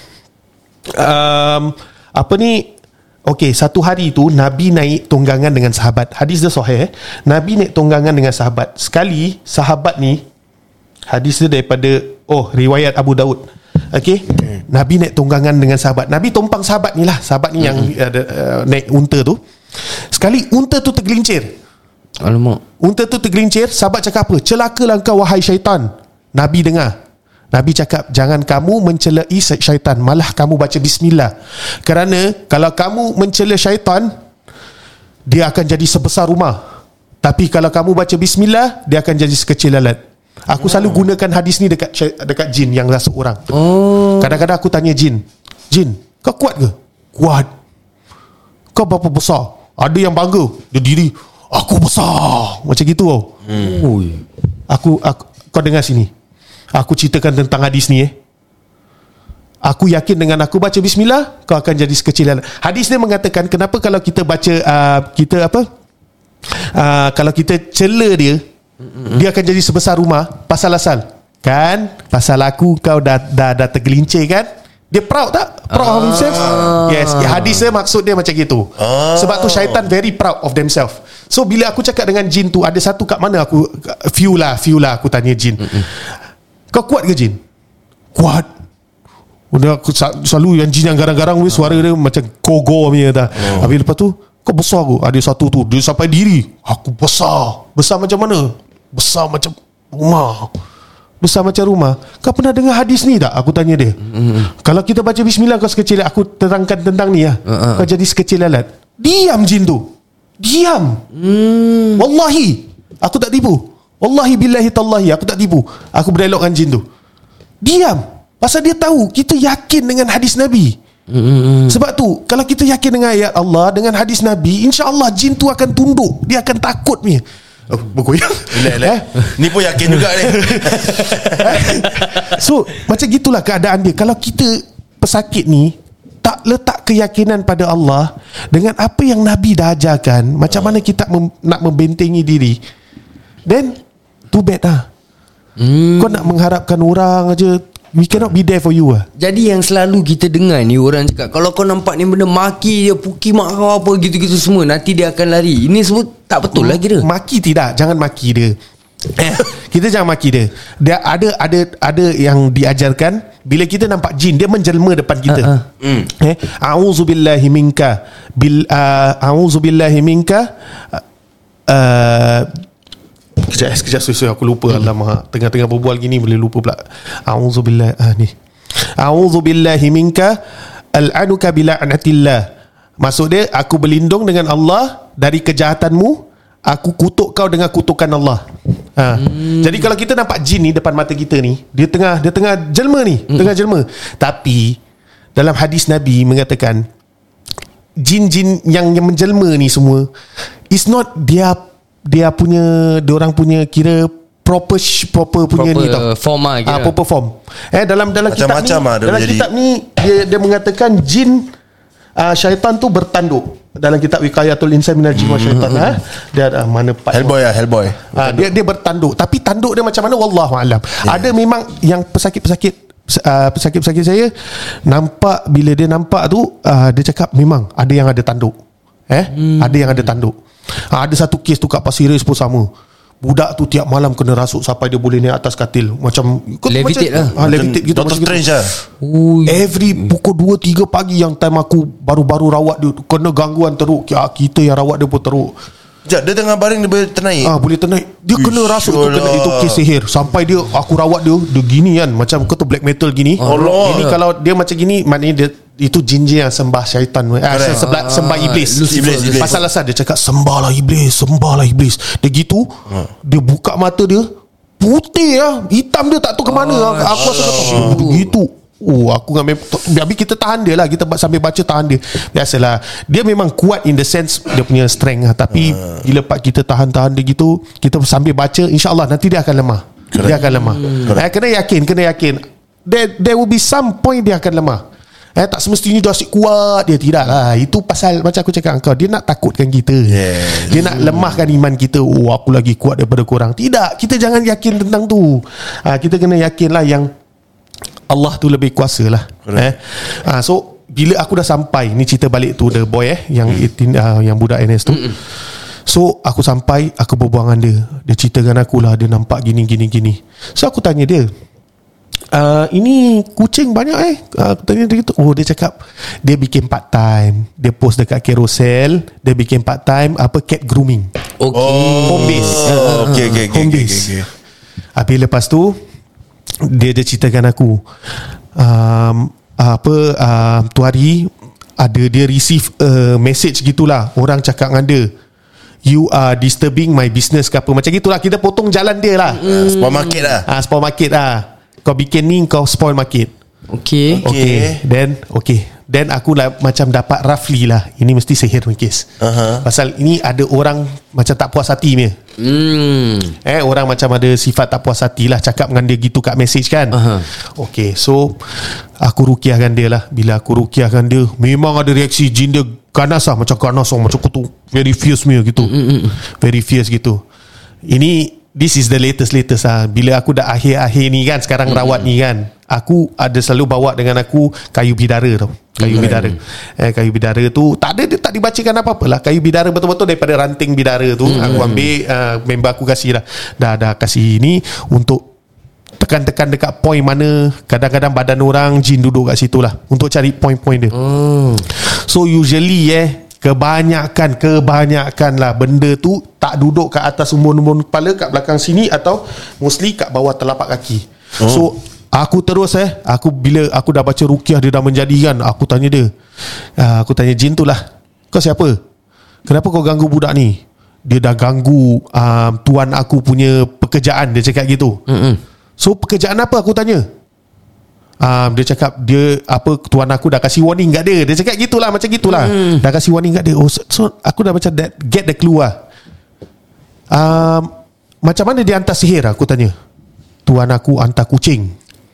okay, satu hari tu Nabi naik tunggangan dengan sahabat. Hadis dia sahih. Nabi naik tunggangan dengan sahabat. Sekali sahabat ni, hadis dia daripada riwayat Abu Daud. Okay, Nabi naik tunggangan dengan sahabat. Nabi tumpang sahabat ni lah. Sahabat ni yang naik unta tu. Sekali unta tu tergelincir. Alamak. Unta tu tergelincir. Sahabat cakap apa? Celakalah kau wahai syaitan. Nabi dengar. Nabi cakap, jangan kamu mencelai syaitan, malah kamu baca bismillah. Kerana kalau kamu mencela syaitan, dia akan jadi sebesar rumah. Tapi kalau kamu baca bismillah, dia akan jadi sekecil lalat. Aku selalu gunakan hadis ni dekat jin yang rasuk orang. Kadang-kadang aku tanya jin, kau kuat ke? Kuat. Kau berapa besar? Ada yang bangga, dia diri, aku besar, macam gitu tau. Aku kau dengar sini, aku ceritakan tentang hadis ni. Aku yakin dengan aku baca bismillah, kau akan jadi sekecil alat. Hadis ni mengatakan kenapa kalau kita baca kalau kita cela dia, dia akan jadi sebesar rumah. Pasal kan, pasal aku kau dah tergelincir kan. Dia proud tak? Proud of himself? Yes. Hadis dia maksud dia macam gitu. Sebab tu syaitan very proud of themselves. So bila aku cakap dengan jin tu, ada satu kat mana aku few lah aku tanya jin, kau kuat ke jin? Kuat. Udah aku selalu yang jin yang garang-garang suara dia macam kogo punya dah. Habis lepas tu kau besar aku. Ada satu tu dia sampai diri, aku besar. Besar macam mana? Besar macam rumah. Besar macam rumah. Kau pernah dengar hadis ni tak? Aku tanya dia. Kalau kita baca bismillah kau sekecil, aku terangkan tentang ni ya. Kau jadi sekecil lalat. Diam jin tu. Diam. Wallahi aku tak tipu. Wallahi billahi tallahi aku tak tipu. Aku berdialog dengan jin tu. Diam. Pasal dia tahu kita yakin dengan hadis Nabi. Sebab tu kalau kita yakin dengan ayat Allah, dengan hadis Nabi, insya-Allah jin tu akan tunduk. Dia akan takut punya. Bergoyang. Ni pun yakin juga ni. So macam gitulah keadaan dia. Kalau kita pesakit ni tak letak keyakinan pada Allah dengan apa yang Nabi dah ajarkan, macam mana kita nak membentengi diri, then too bad lah. Kau nak mengharapkan orang aja, we cannot be there for you lah. Jadi yang selalu kita dengar ni, orang cakap kalau kau nampak ni benda, maki dia, puki mak kau apa gitu-gitu semua, nanti dia akan lari. Ini semua tak betul lagi dia. Maki tidak, jangan maki dia. Kita jangan maki dia. Dia ada yang diajarkan, bila kita nampak jin, dia menjelma depan kita. A'udzubillahi minka a'udzubillahi minka. Sekejap aku lupa. Alamak, tengah-tengah berbual gini boleh lupa pula. A'udzubillahi minka al'anuka bila'natillah. Maksud dia, aku berlindung dengan Allah dari kejahatanmu, aku kutuk kau dengan kutukan Allah. Jadi kalau kita nampak jin ni depan mata kita ni, dia tengah jelma ni, tengah jelma. Tapi dalam hadis Nabi mengatakan jin-jin yang menjelma ni semua is not dia orang punya kira proper punya ni tau, form lah kira. Proper form. Dalam kitab ni, dalam kitab ni dia mengatakan jin, syaitan tu bertanduk. Dalam kitab Wiqayatul Insan minal Jin wa Syaitan, dia ada mana part Hellboy. Dia bertanduk. Tapi tanduk dia macam mana wallahu alam. Ada memang yang pesakit saya nampak, bila dia nampak tu dia cakap memang ada yang ada tanduk. Ada yang ada tanduk. Ada satu kes tu kat Pasir Ris pun sama. Budak tu tiap malam kena rasuk sampai dia boleh naik atas katil. Macam levitate lah. Levitate gitu. Doctor Strange lah. Every pukul 2-3 pagi yang time aku baru rawat dia, kena gangguan teruk. Kita yang rawat dia pun teruk. Sekejap, dia tengah baring dia boleh ternaik. Boleh ternaik. Dia kena rasuk tu, kena itu kes sihir. Sampai aku rawat dia gini kan, macam kau tu black metal gini. Ini kalau dia macam gini, maknanya dia itu jin-jin yang sembah syaitan, sembah iblis. Pasal asal dia cakap sembahlah iblis. Dia gitu, dia buka mata dia putih lah, hitam dia tak tahu ke mana. Aku rasa begitu. Aku dengan habis kita tahan dia lah, kita sambil baca tahan dia. Biasalah, dia memang kuat in the sense dia punya strength lah. Tapi bila kita tahan dia gitu, kita sambil baca, insyaAllah nanti dia akan lemah. Dia akan lemah. Kena yakin there will be some point dia akan lemah. Tak semestinya dia asyik kuat. Dia tidak lah. Itu pasal macam aku cakap kau, dia nak takutkan kita. Dia nak lemahkan iman kita. Aku lagi kuat daripada korang. Tidak, kita jangan yakin tentang tu. Kita kena yakin lah yang Allah tu lebih kuasa lah. So bila aku dah sampai, ni cerita balik tu the boy yang budak NS tu. So aku sampai, aku berbual dengan dia. Dia cerita dengan aku lah, dia nampak gini. So aku tanya dia, ini kucing banyak aku tanya dia gitu. Dia cakap dia bikin part time, dia post dekat Carousel, dia bikin part time cat grooming. Home base. Home base. Habis lepas tu dia ceritakan aku tu hari dia receive message gitulah, orang cakap dengan dia, you are disturbing my business ke apa, macam gitulah. Kita potong jalan dia lah. Spoil market lah. Kau bikin ni, kau spoil market. Okay. Then Then aku lah macam dapat roughly lah, ini mesti sihir punya kes. Pasal ini ada orang macam tak puas hati punya. Orang macam ada sifat tak puas hati lah, cakap dengan dia gitu kat message kan. Okay, so aku rukiahkan dia lah. Bila aku rukiahkan dia, memang ada reaksi jin dia ganas lah, macam ganas lah, macam kutu, very fierce punya gitu. Very fierce gitu. This is the latest lah. Bila aku dah akhir-akhir ni kan, sekarang rawat ni kan, aku ada selalu bawa dengan aku kayu bidara tau. Kayu bidara. Kayu bidara tu tak dibacakan apa-apa lah. Kayu bidara betul-betul daripada ranting bidara tu. Aku ambil, member aku kasih lah. Dah kasih ni untuk tekan-tekan dekat point mana kadang-kadang badan orang jin duduk kat situ lah, untuk cari point-point dia. So usually kebanyakan lah benda tu tak duduk kat atas umbun-umbun kepala, kat belakang sini, atau mostly kat bawah telapak kaki. So aku terus bila aku dah baca rukiah, dia dah menjadi kan, aku tanya dia, aku tanya jin tu lah, kau siapa? Kenapa kau ganggu budak ni? Dia dah ganggu tuan aku punya pekerjaan, dia cakap gitu. So pekerjaan apa, aku tanya. Dia cakap tuan aku dah kasih warning kat dia. Dia cakap gitulah, macam gitulah. Dah kasih warning kat dia. So aku dah macam get the clue lah. Macam mana dia hantar sihir, aku tanya. Tuan aku hantar kucing.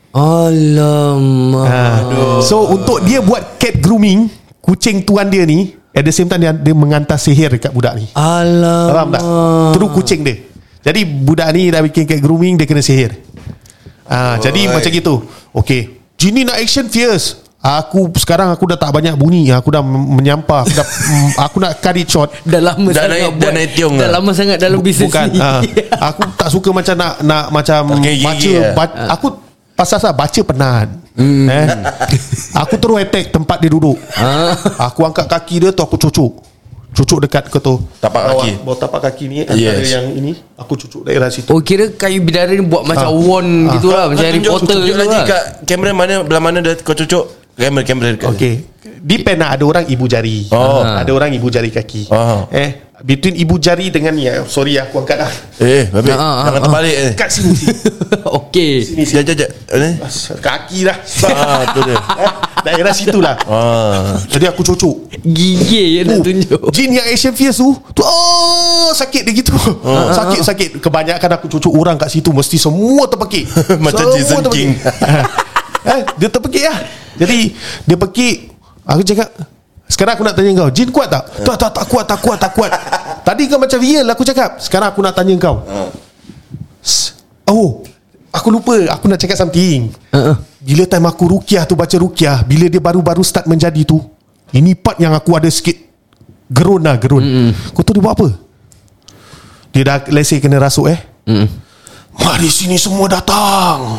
Alamak. So untuk dia buat cat grooming kucing tuan dia ni, at the same time dia menghantar sihir dekat budak ni. Alamak. Faham tak? Terus kucing dia. Jadi budak ni dah bikin cat grooming, dia kena sihir. Jadi macam gitu. Okay, jin ni nak action fierce. Sekarang aku dah tak banyak bunyi. Aku dah menyampah. Aku nak cut it short. Dah lama sangat buat. Dah lama sangat dalam bisnes ni. Aku tak suka macam nak macam baca. Aku pasal baca penat. Aku terus attack tempat dia duduk. Aku angkat kaki dia tu, aku cucuk dekat ke tu tapak kaki, bawah tapak kaki ni, antara yang ini aku cucuk daerah situ. Oh, kira kayu bidara ni buat macam wand gitulah, macam Harry Potter gitu lah. Kat kamera mana, belah mana dah kau cucuk kamera dekat. Okay, depend lah. Ada orang ibu jari, ada orang ibu jari kaki. Between ibu jari dengan ni, sorry aku angkat dah. Baik, jangan terbalik kat sini. Okay, sini. Jajak kaki dah. Tu dia. Daerah situ lah. Jadi aku cucuk. Gigil je nak tunjuk. Jin yang action fierce tu sakit dia gitu. Sakit. Kebanyakan aku cucuk orang kat situ, mesti semua terpekik. Macam Jason King. Dia terpekik lah. Jadi dia pekik. Aku cakap, sekarang aku nak tanya kau, jin kuat tak? Tak kuat. Tadi kau macam real, aku cakap. Sekarang aku nak tanya kau. Aku lupa, aku nak cakap something. Bila time aku rukiah tu, baca rukiah, bila dia baru-baru start menjadi tu, ini part yang aku ada sikit gerun. Kau tahu dia buat apa? Dia dah let's say kena rasuk mari sini semua datang.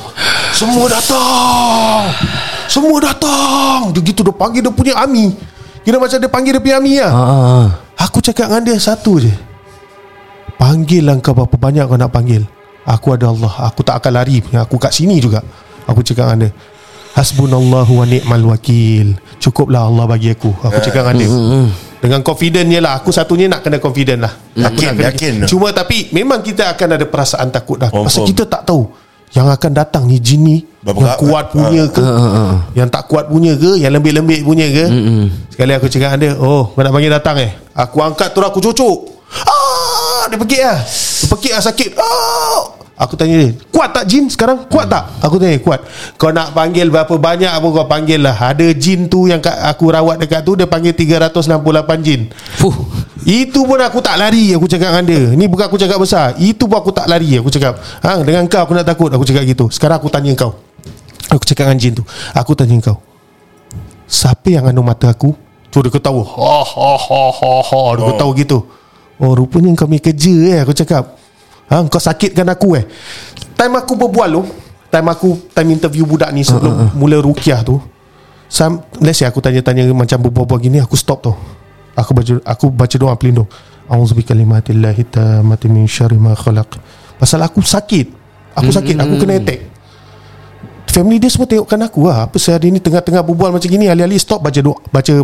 Dia gitu, dia panggil dia punya army. Kira macam dia panggil dia punya army lah. Aku cakap dengan dia satu je, panggil lah kau berapa banyak kau nak panggil. Aku ada Allah, aku tak akan lari. Aku kat sini juga. Aku cakap dengan dia, hasbunallahu wa ni'mal wakil. Cukuplah Allah bagi aku. Aku cakap dengan dia dengan confident je lah. Aku satunya nak kena confident lah. Yakin. Cuma tapi memang kita akan ada perasaan takut dah. Pasal kita tak tahu yang akan datang ni jin ni yang kuat punya ke, yang tak kuat punya ke, yang lembik-lembik punya ke. Sekali aku cakap dengan dia, kau nak panggil datang Aku angkat tu, aku cucuk. Dia pekik lah, sakit. Aku tanya dia, kuat tak jin sekarang? Kuat tak? Aku tanya, kuat. Kau nak panggil berapa banyak pun kau panggil lah. Ada jin tu yang aku rawat dekat tu, dia panggil 368 jin. Itu pun aku tak lari. Aku cakap dengan dia, ni bukan aku cakap besar, itu pun aku tak lari. Aku cakap, dengan kau aku nak takut? Aku cakap gitu. Sekarang aku tanya kau, aku cakap dengan jin tu, aku tanya kau, siapa yang anu mata aku? Tu dia ketawa. Dia ketawa gitu. Rupanya kau punya kerja Aku cakap, kau sakitkan aku Time aku berbual tu, time interview budak ni sebelum mula rukiah tu, let's say aku tanya-tanya macam berbual-bual gini, aku stop tu. Aku baca doa pelindung. A'udzubikalimatillahi tammati min syarri ma khalaq. Pasal aku sakit. Aku kena attack. Family dia semua tengokkan aku apa sehari ni tengah-tengah berbual macam gini, alih-alih stop baca doa.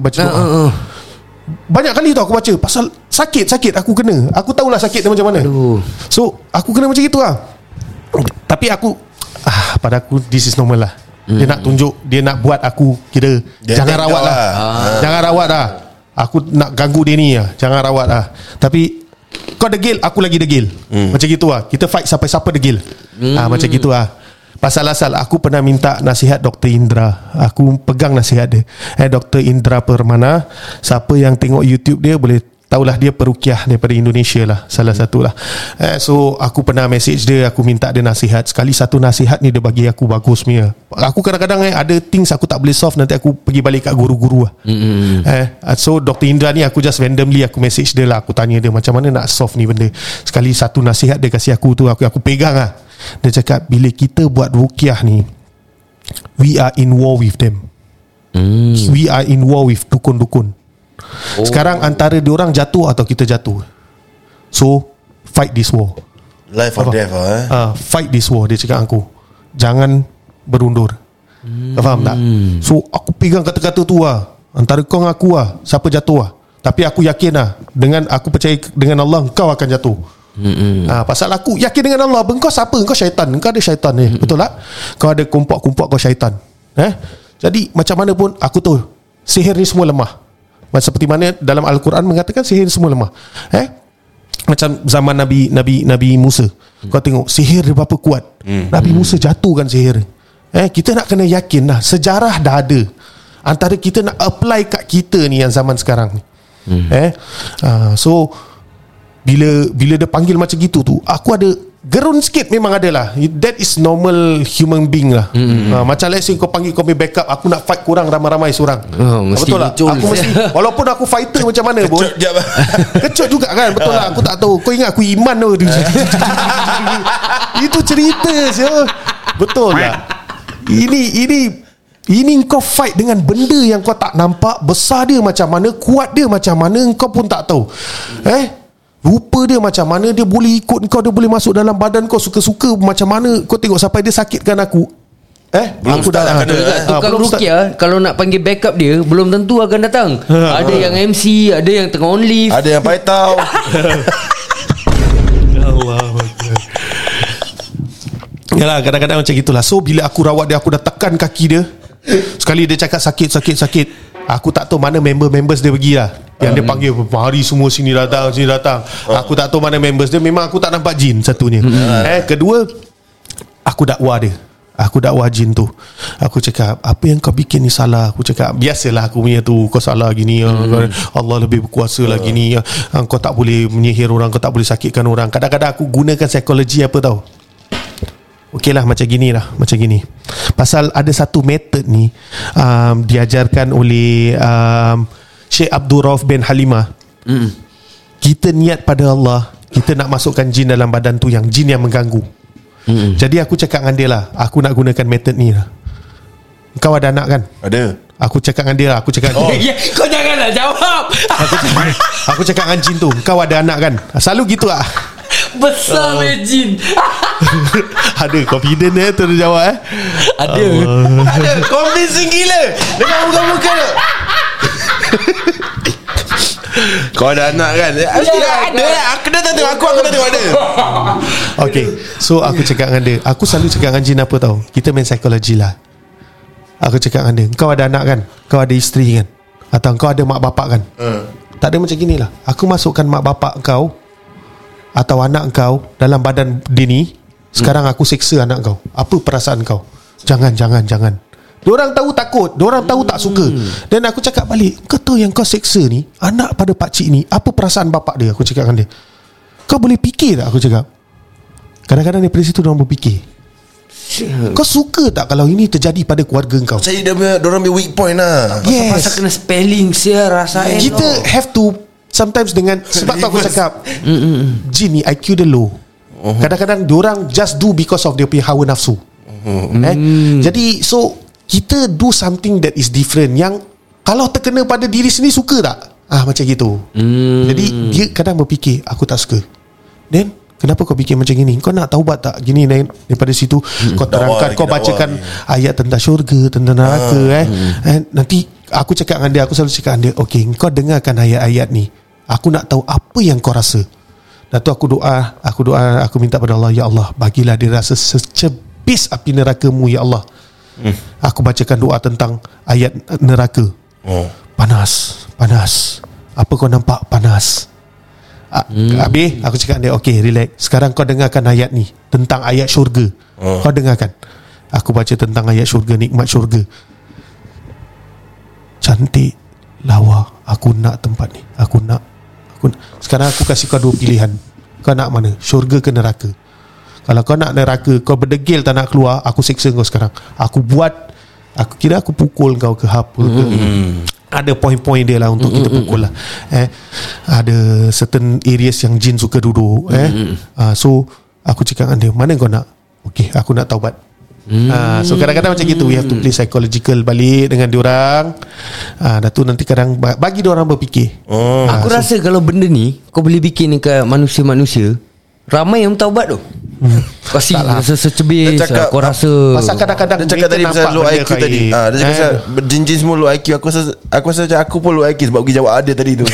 Banyak kali tu aku baca. Pasal sakit aku kena. Aku tahulah sakit dia macam mana. So aku kena macam gitu lah. Tapi aku pada aku this is normal lah. Dia nak tunjuk, dia nak buat aku kira jangan rawat lah. Jangan rawat lah. Aku nak ganggu dia ni lah. Jangan rawat lah. Tapi kau degil, aku lagi degil. Macam gitu lah. Kita fight sampai siapa degil. Macam gitu lah. Pasal aku pernah minta nasihat Dr. Indra. Aku pegang nasihat dia. Dr. Indra Permana. Siapa yang tengok YouTube dia boleh tahulah, dia perukiah daripada Indonesia lah, salah satu lah. So aku pernah message dia, aku minta dia nasihat. Sekali satu nasihat ni dia bagi aku bagus punya. Aku kadang-kadang ada things aku tak boleh solve, nanti aku pergi balik kat guru-guru lah. So Dr. Indra ni aku just randomly aku message dia lah. Aku tanya dia macam mana nak solve ni benda. Sekali satu nasihat dia kasih aku tu, aku pegang lah. Dia cakap bila kita buat ruqyah ni, we are in war with them. We are in war with dukun-dukun. Sekarang antara diorang jatuh atau kita jatuh. So fight this war. Life or death fight this war. Dia cakap aku, jangan berundur. Faham tak? So aku pegang kata-kata tu lah. Antara kau dengan aku lah, siapa jatuh lah. Tapi aku yakin lah, dengan aku percaya dengan Allah, kau akan jatuh. Pasal aku yakin dengan Allah. Engkau siapa? Engkau syaitan. Engkau ada syaitan ni. Betul tak? Kau ada kumpuk-kumpuk, kau syaitan. Jadi macam mana pun aku tahu sihir ni semua lemah. Seperti mana dalam Al-Quran mengatakan sihir semua lemah. Macam zaman Nabi Musa. Kau tengok sihir dia berapa kuat. Nabi Musa jatuhkan sihir. Kita nak kena yakin lah, sejarah dah ada. Antara kita nak apply kat kita ni yang zaman sekarang ni. So bila dia panggil macam gitu tu, aku ada gerun sikit, memang ada lah. That is normal human being lah. Macam let's say kau panggil kau punya backup, aku nak fight korang ramai-ramai seorang. Betul lah. Aku mesti, walaupun aku fighter macam mana pun, kecut juga kan. Betul lah. Aku tak tahu. Kau ingat aku iman tu. Itu cerita siapa. Betul lah. Ini kau fight dengan benda yang kau tak nampak. Besar dia macam mana, kuat dia macam mana, kau pun tak tahu. Rupa dia macam mana, dia boleh ikut kau, dia boleh masuk dalam badan kau suka-suka macam mana. Kau tengok sampai dia sakitkan aku. Belum aku start dah tukang ruqyah kalau nak panggil backup dia belum tentu akan datang. Ada yang MC, ada yang tengah on leave, ada yang paitau. Allah. Yalah, kadang-kadang macam gitulah. So bila aku rawat dia, aku dah tekan kaki dia. Sekali dia cakap sakit. Aku tak tahu mana members dia pergi lah. Yang dia panggil hari semua sini datang. Aku tak tahu mana members dia. Memang aku tak nampak jin satunya. Kedua, aku dakwah jin tu. Aku cakap, apa yang kau bikin ni salah. Aku cakap, biasalah aku punya tu, kau salah gini. Allah lebih berkuasa lah gini. Kau tak boleh menyihir orang, kau tak boleh sakitkan orang. Kadang-kadang aku gunakan psikologi apa tau. Okey lah, macam gini. Pasal ada satu method ni diajarkan oleh Syekh Abdul Rauf bin Halimah. Kita niat pada Allah, kita nak masukkan jin dalam badan tu, yang jin yang mengganggu. Jadi aku cakap dengan dia lah, aku nak gunakan method ni lah. Kau ada anak kan? Ada. Aku cakap dengan dia lah, kau janganlah jawab. Aku cakap dengan jin tu, kau ada anak kan? Selalu gitu lah. Besar jin. Ada confident tu dia jawab Ada Convincing gila dengan muka-muka tu. Kau ada anak kan? Ada. Aku dah tengok aku dah tengok dia. Okay, so aku cakap dengan dia, aku selalu cakap dengan jin apa tau, kita main psikologi lah. Aku cakap dengan dia, kau ada anak kan? Kau ada isteri kan? Atau kau ada mak bapak kan? Tak ada macam gini lah. Aku masukkan mak bapak kau atau anak kau dalam badan dia ni. Sekarang aku seksa anak kau. Apa perasaan kau? Jangan. Diorang tahu takut, diorang tahu tak suka. Dan aku cakap balik, kau tahu yang kau seksa ni anak pada pakcik ni, apa perasaan bapak dia? Aku cakap dengan dia, kau boleh fikir tak? Aku cakap, kadang-kadang daripada situ diorang berfikir, kau suka tak kalau ini terjadi pada keluarga kau? Saya diorang punya weak point lah. Pasal kena spelling rasain. Kita have to sometimes dengan, sebab tu aku cakap jin ni IQ dia low. Kadang-kadang diorang just do because of dia punya hawa nafsu. Jadi so kita do something that is different, yang kalau terkena pada diri sendiri, suka tak? Macam gitu. Jadi dia kadang berfikir, aku tak suka. Then kenapa kau fikir macam gini? Kau nak taubat tak? Gini daripada situ kau terangkan, kau bacakan ayat tentang syurga, tentang neraka. Nanti aku cakap dengan dia, aku selalu cakap dengan dia, okay, kau dengarkan ayat-ayat ni, aku nak tahu apa yang kau rasa. Dan tu aku doa, aku minta pada Allah, ya Allah, bagilah dia rasa secebis api neraka-Mu, ya Allah. Aku bacakan doa tentang ayat neraka. Panas. Apa kau nampak? Panas. Habis aku cakap dia, okay, relax. Sekarang kau dengarkan ayat ni tentang ayat syurga. Kau dengarkan. Aku baca tentang ayat syurga, nikmat syurga. Cantik, lawa. Aku nak tempat ni. Aku nak. Sekarang aku kasih kau 2 pilihan. Kau nak mana? Syurga ke neraka? Kalau kau nak neraka, kau berdegil tak nak keluar, aku siksa kau sekarang. Aku pukul kau ke apa ke. Ada poin-poin dia lah untuk kita pukul lah. Ada certain areas yang jin suka duduk. So aku cakap dengan dia, mana kau nak? Okay, aku nak taubat. So kadang-kadang macam gitu, we have to play psychological balik dengan diorang. Dah tu nanti kadang bagi diorang berfikir. Aku rasa kalau benda ni kau boleh bikin dekat manusia-manusia, ramai yang taubat tu. Kasih rasa secebis. Kau rasa pasal kadang-kadang dia cakap tadi pasal low IQ tadi. Dia cakap pasal jin-jin semua low IQ. Aku rasa macam aku pun low IQ sebab pergi jawab ada tadi tu.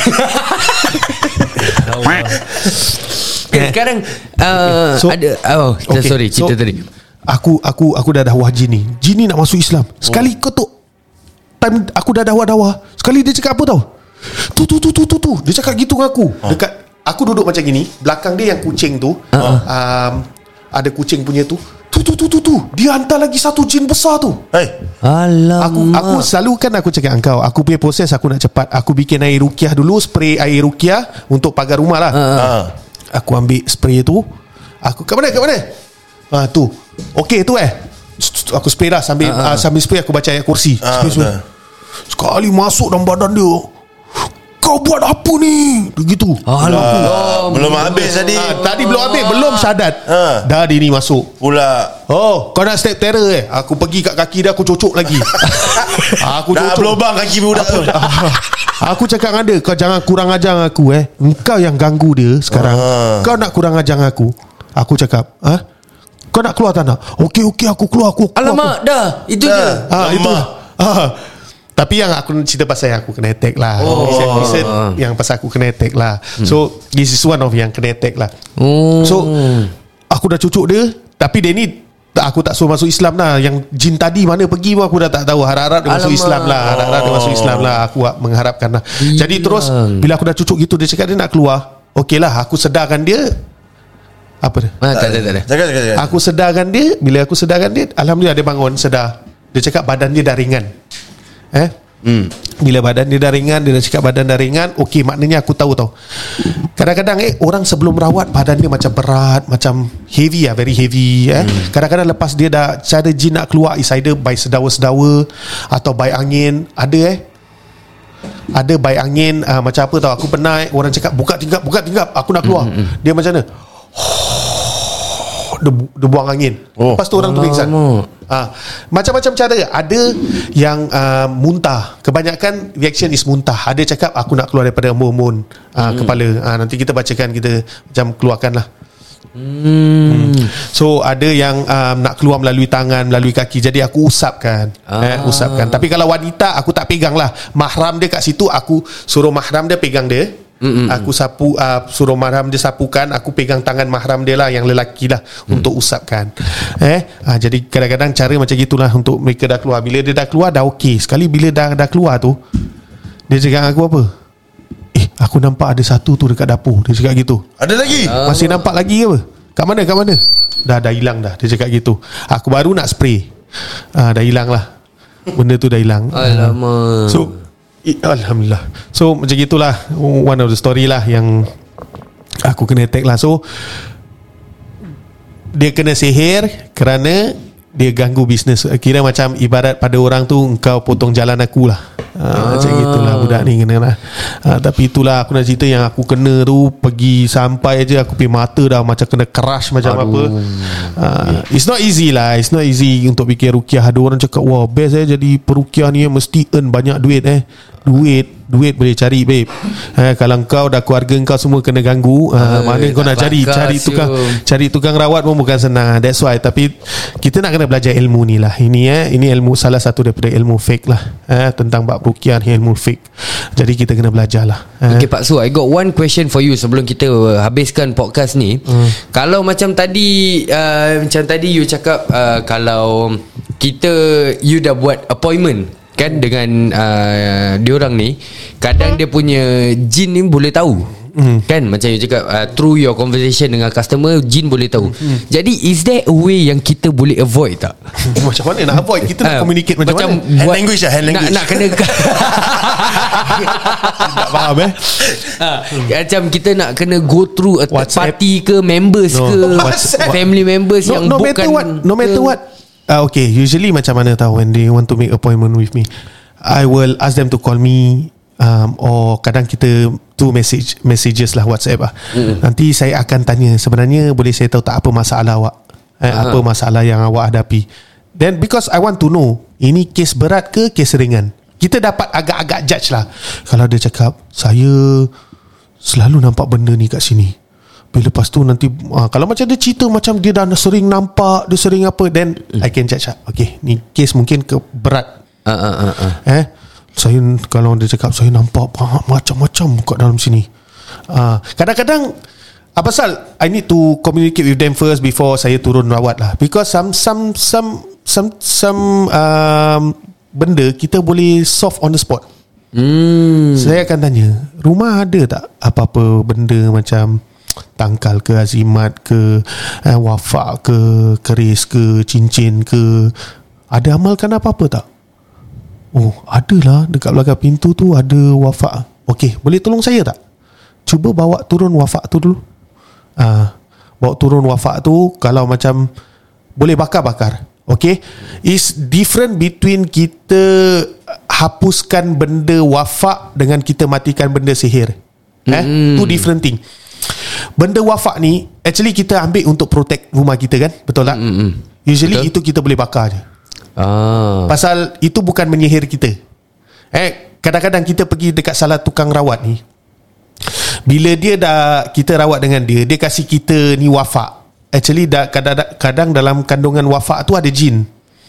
Sekarang ada sorry, cerita tadi. Aku dah dakwah jin ni. Jin ni nak masuk Islam. Sekali kau tu time aku dah dakwah. Sekali dia cakap apa tau? Tu. Dia cakap gitu dengan aku. Dekat aku duduk macam gini, belakang dia yang kucing tu. Ada kucing punya tu. Tu. Dia hantar lagi satu jin besar tu. Alamak. Aku selalu kan aku cakap engkau, aku punya proses aku nak cepat. Aku bikin air ruqyah dulu, spray air ruqyah untuk pagar rumah lah. Aku ambil spray tu. Aku kat mana? Tu. Okey tu aku spray dah sambil spray aku baca ayat kursi. Sekali masuk dalam badan dia. Kau buat apa ni? Begitu. Belum habis tadi. Tadi belum habis, belum syahadat. Dah dia ni masuk pula. Kau nak step terror Aku pergi kat kaki dia, aku cocok lagi. Aku dah cocok. berlubang kaki budak tu. Aku cakap dengan dia, kau jangan kurang ajar aku. Engkau yang ganggu dia sekarang. Kau nak kurang ajar aku. Aku cakap, kau nak keluar tak nak? Okey aku keluar. Alamak, dah. Itu je. Itu. Tapi yang aku cerita pasal yang aku kena attack lah. Yang pasal aku kena attack lah. So this is one of yang kena attack lah. So aku dah cucuk dia. Tapi dia ni aku tak suruh masuk Islam lah. Yang jin tadi mana pergi pun aku dah tak tahu. Harap-harap dia masuk Islam lah. Aku mengharapkan lah. Jadi terus bila aku dah cucuk gitu, dia cakap dia nak keluar. Okey lah, aku sedarkan dia. Apa dia? Tak ada. Aku sedarkan dia. Bila aku sedarkan dia, alhamdulillah dia bangun, sedar. Dia cakap badan dia dah ringan. Bila badan dia dah ringan, dia dah cakap badan dah ringan. Okey, maknanya aku tahu tau. Kadang-kadang orang sebelum rawat badan dia macam berat, macam heavy lah, very heavy. Kadang-kadang lepas dia dah cara jin nak keluar, is either by sedawa-sedawa atau by angin. Ada by angin. Macam apa tau, aku pernah orang cakap buka tingkap, aku nak keluar. Dia macam mana? Dia buang angin. Lepas tu orang tu pingsan. Macam-macam cara. Ada yang muntah. Kebanyakan reaction is muntah. Ada cakap aku nak keluar daripada embun kepala. Nanti kita bacakan, kita macam keluarkan lah. So ada yang nak keluar melalui tangan, melalui kaki. Jadi aku usapkan. Tapi kalau wanita aku tak pegang lah. Mahram dia kat situ, aku suruh mahram dia pegang dia. Aku sapu, suruh mahram dia sapukan. Aku pegang tangan mahram dia lah, yang lelaki lah, untuk usapkan. Jadi kadang-kadang cara macam gitulah untuk mereka dah keluar. Bila dia dah keluar dah okey. Sekali bila dah keluar tu, dia cakap aku apa? Aku nampak ada satu tu dekat dapur. Dia cakap gitu. Ada lagi? Masih nampak lagi ke apa? Kat mana? Dah hilang dah. Dia cakap gitu. Aku baru nak spray. Dah hilang lah. Benda tu dah hilang. Alamak. So alhamdulillah. So macam gitulah one of the story lah yang aku kena attack lah. So dia kena sihir kerana dia ganggu bisnes. Kira macam ibarat pada orang tu, engkau potong jalan aku lah. Macam gitulah budak ni kena lah. Tapi itulah aku nak cerita yang aku kena tu. Pergi sampai je aku pergi mata dah macam kena crush macam apa. It's not easy lah. It's not easy untuk bikin ruqyah. Ada orang cakap, wah best jadi peruqyah ni mesti earn banyak duit. Duit duit boleh cari babe. Kalau kau dah keluarga kau semua kena ganggu, mana kau nak cari tukang rawat pun bukan senang. That's why. Tapi kita nak kena belajar ilmu ni lah. Ini ilmu, salah satu daripada ilmu fake lah, tentang bab ruqyah ni, ilmu fake. Jadi kita kena belajar lah. Okay Pak Su, I got one question for you sebelum kita habiskan podcast ni. Kalau macam tadi you cakap, kalau you dah buat appointment kan dengan diorang ni, kadang dia punya jin ni boleh tahu. Kan macam you cakap, through your conversation dengan customer, jin boleh tahu. Jadi is there a way yang kita boleh avoid tak? Macam mana nak avoid? Kita nak communicate macam mana? Hand language lah, hand language. Nak kena tak faham macam kita nak kena go through a third party ke, members ke, family members yang bukan no matter what. Okay, usually macam mana tahu, when they want to make appointment with me, I will ask them to call me, or kadang kita tu messages lah, WhatsApp lah. Nanti saya akan tanya, sebenarnya boleh saya tahu tak apa masalah awak, apa masalah yang awak hadapi. Then because I want to know, ini kes berat ke kes ringan, kita dapat agak-agak judge lah. Kalau dia cakap, saya selalu nampak benda ni kat sini, lepas tu nanti kalau macam dia cerita macam dia dah sering nampak, dia sering apa, then I can judge lah. Okay, ni kes mungkin berat. Saya, kalau dia cakap saya nampak macam-macam kat dalam sini, kadang-kadang pasal I need to communicate with them first before saya turun rawat lah. Because some benda kita boleh solve on the spot. Saya akan tanya, rumah ada tak apa-apa benda macam tangkal ke, azimat ke, wafak ke, keris ke, cincin ke, ada amalkan apa-apa tak? Oh, adalah, dekat belakang pintu tu ada wafak. Okey, boleh tolong saya tak? Cuba bawa turun wafak tu dulu. Bawa turun wafak tu, kalau macam boleh bakar-bakar. Okay, is different between kita hapuskan benda wafak dengan kita matikan benda sihir. Two different thing. Benda wafak ni actually kita ambil untuk protect rumah kita kan, betul tak? Usually betul. Itu kita boleh bakar je. Pasal itu bukan menyihir kita. Kadang-kadang kita pergi dekat salah tukang rawat ni, bila dia dah kita rawat dengan dia kasih kita ni wafak. Actually kadang dalam kandungan wafak tu ada jin.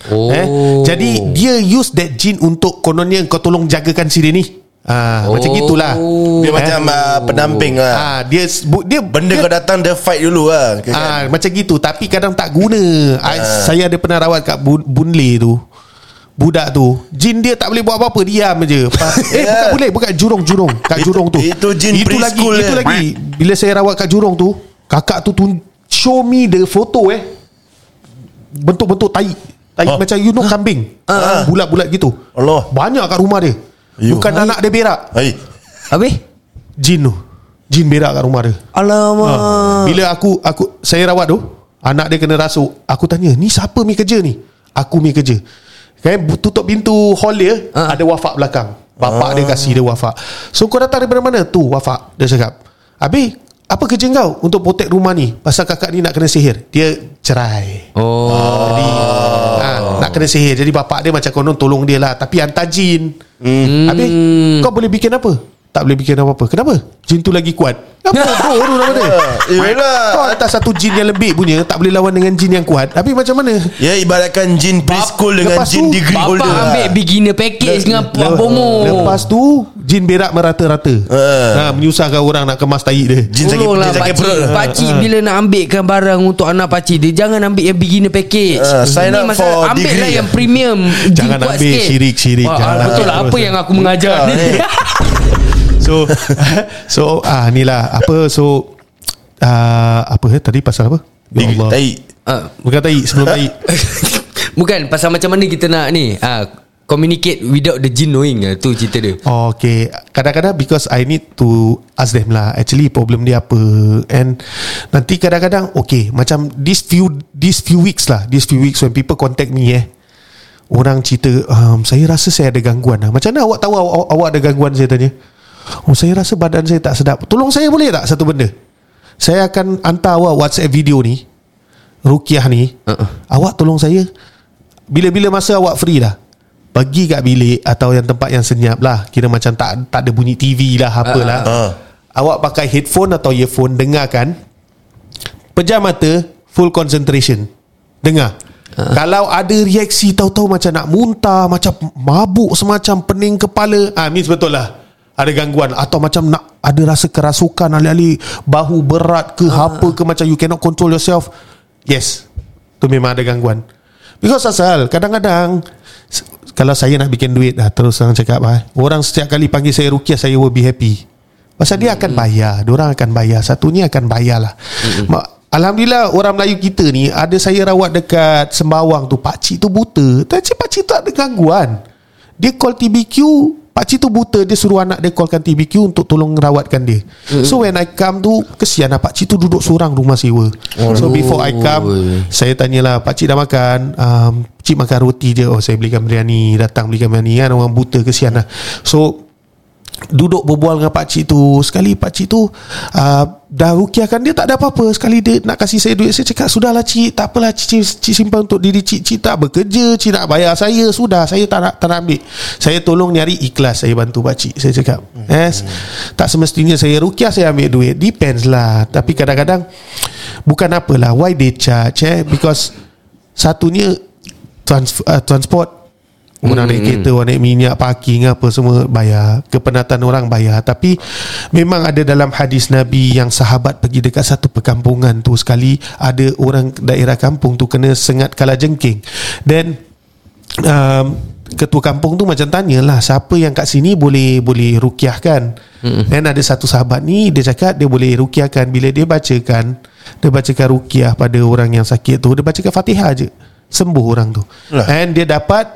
Jadi dia use that jin untuk kononnya kau tolong jagakan si dia ni. Macam gitulah. Dia macam pendamping lah. Dia benda kau datang dia fight dulu lah. Macam gitu. Tapi kadang tak guna. Saya ada pernah rawat kat Boon Lay tu. Budak tu, jin dia tak boleh buat apa-apa, diam je. Bukan boleh, bukan jurong kat jurong tu. Itu jin preschool. Itu lagi. Bila saya rawat kat jurong tu, kakak tu show me the photo bentuk-bentuk tai macam kambing. Bulat-bulat gitu. Allah. Banyak kat rumah dia. Bukan anak dia berak. Habis? Jin tu. Jin berak kat rumah dia. Alamak. Bila saya rawat tu, anak dia kena rasuk. Aku tanya, ni siapa mi kerja ni? Aku mi kerja. Tutup pintu hall dia, ada wafak belakang. Bapak dia kasih dia wafak. So kau datang daripada mana? Tu wafak. Dia cakap, habis apa kerja kau untuk protect rumah ni? Pasal kakak ni nak kena sihir. Dia cerai. Jadi nak kena sihir. Jadi bapak dia macam konon tolong dia lah, tapi hantar jin. Habis kau boleh bikin apa? Tak boleh bikin apa-apa. Kenapa? Jin tu lagi kuat. Apa bodoh nama dia? Kau hantar satu jin yang lembik punya, tak boleh lawan dengan jin yang kuat. Tapi macam mana? Ya, ibaratkan jin preschool dengan jin degree holder. Bapak ambil beginner package dengan promo. Lepas tu jin berak merata-rata. Menyusahkan orang nak kemas tahi dia. Jin sakit perut. Pakcik bila nak ambilkan barang untuk anak pakcik dia, jangan ambil yang beginner package. Sign up for ambil degree lah yang premium. Jangan ambil syirik-syirik. Betul lah, apa yang aku mengajar ni. So inilah apa. So apa tadi pasal apa? Ya Allah. Tai. Bukan tai, sebelum tai. Bukan pasal macam mana kita nak ni communicate without the jin knowing. Tu cerita dia. Okay, kadang-kadang because I need to ask them lah, actually problem dia apa. And nanti kadang-kadang okay, macam these few weeks when people contact me orang cerita, saya rasa saya ada gangguan lah. Macam mana awak tahu awak ada gangguan? Saya tanya, saya rasa badan saya tak sedap. Tolong saya boleh tak satu benda? Saya akan hantar awak WhatsApp video ni, ruqyah ni. Awak tolong saya bila-bila masa awak free lah. pergi kat bilik atau yang tempat yang senyap lah, kira macam tak ada bunyi TV lah, apalah. Awak pakai headphone atau earphone, dengarkan, pejam mata, full concentration, dengar. Kalau ada reaksi tahu-tahu macam nak muntah, macam mabuk semacam, pening kepala, means betul lah ada gangguan. Atau macam nak ada rasa kerasukan, alih-alih bahu berat ke apa ke, macam you cannot control yourself, yes, tu memang ada gangguan. Because asal kadang-kadang kalau saya nak bikin duit, terus orang cakap, orang setiap kali panggil saya ruqyah, saya will be happy. Pasal dia akan bayar, diorang akan bayar, satunya akan bayar lah. Alhamdulillah orang Melayu kita ni, ada saya rawat dekat Sembawang tu, pakcik tu buta, tapi pakcik tu ada gangguan. Dia call TBQ, pakcik tu buta, dia suruh anak dia callkan TBQ untuk tolong rawatkan dia. So when I come tu, kesian lah pakcik tu duduk seorang rumah sewa. So before I come, saya tanyalah, pakcik dah makan? Pakcik makan roti je. Oh, saya belikan biryani, datang belikan biryani kan, orang buta, kesian lah. So duduk berbual dengan pakcik tu. Sekali pakcik tu dah rukiahkan dia, tak ada apa-apa. Sekali dia nak kasih saya duit, saya cakap, sudahlah cik, tak apalah cik simpan untuk diri cik. Cik tak bekerja, cik nak bayar saya, sudah, saya tak nak ambil. Saya tolong nyari ikhlas, saya bantu pakcik. Saya cakap, tak semestinya saya rukiah saya ambil duit. Depends lah. Tapi kadang-kadang bukan apalah, why they charge, because satunya transport, orang naik kereta, orang naik minyak, parking apa semua bayar, kepenatan orang bayar. Tapi memang ada dalam hadis Nabi yang sahabat pergi dekat satu perkampungan tu, sekali ada orang daerah kampung tu kena sengat kalajengking. Dan ketua kampung tu macam tanyalah, siapa yang kat sini boleh rukiahkan. Dan ada satu sahabat ni, dia cakap dia boleh rukiahkan. Bila dia bacakan rukiah pada orang yang sakit tu, dia bacakan Fatihah je, sembuh orang tu. And dia dapat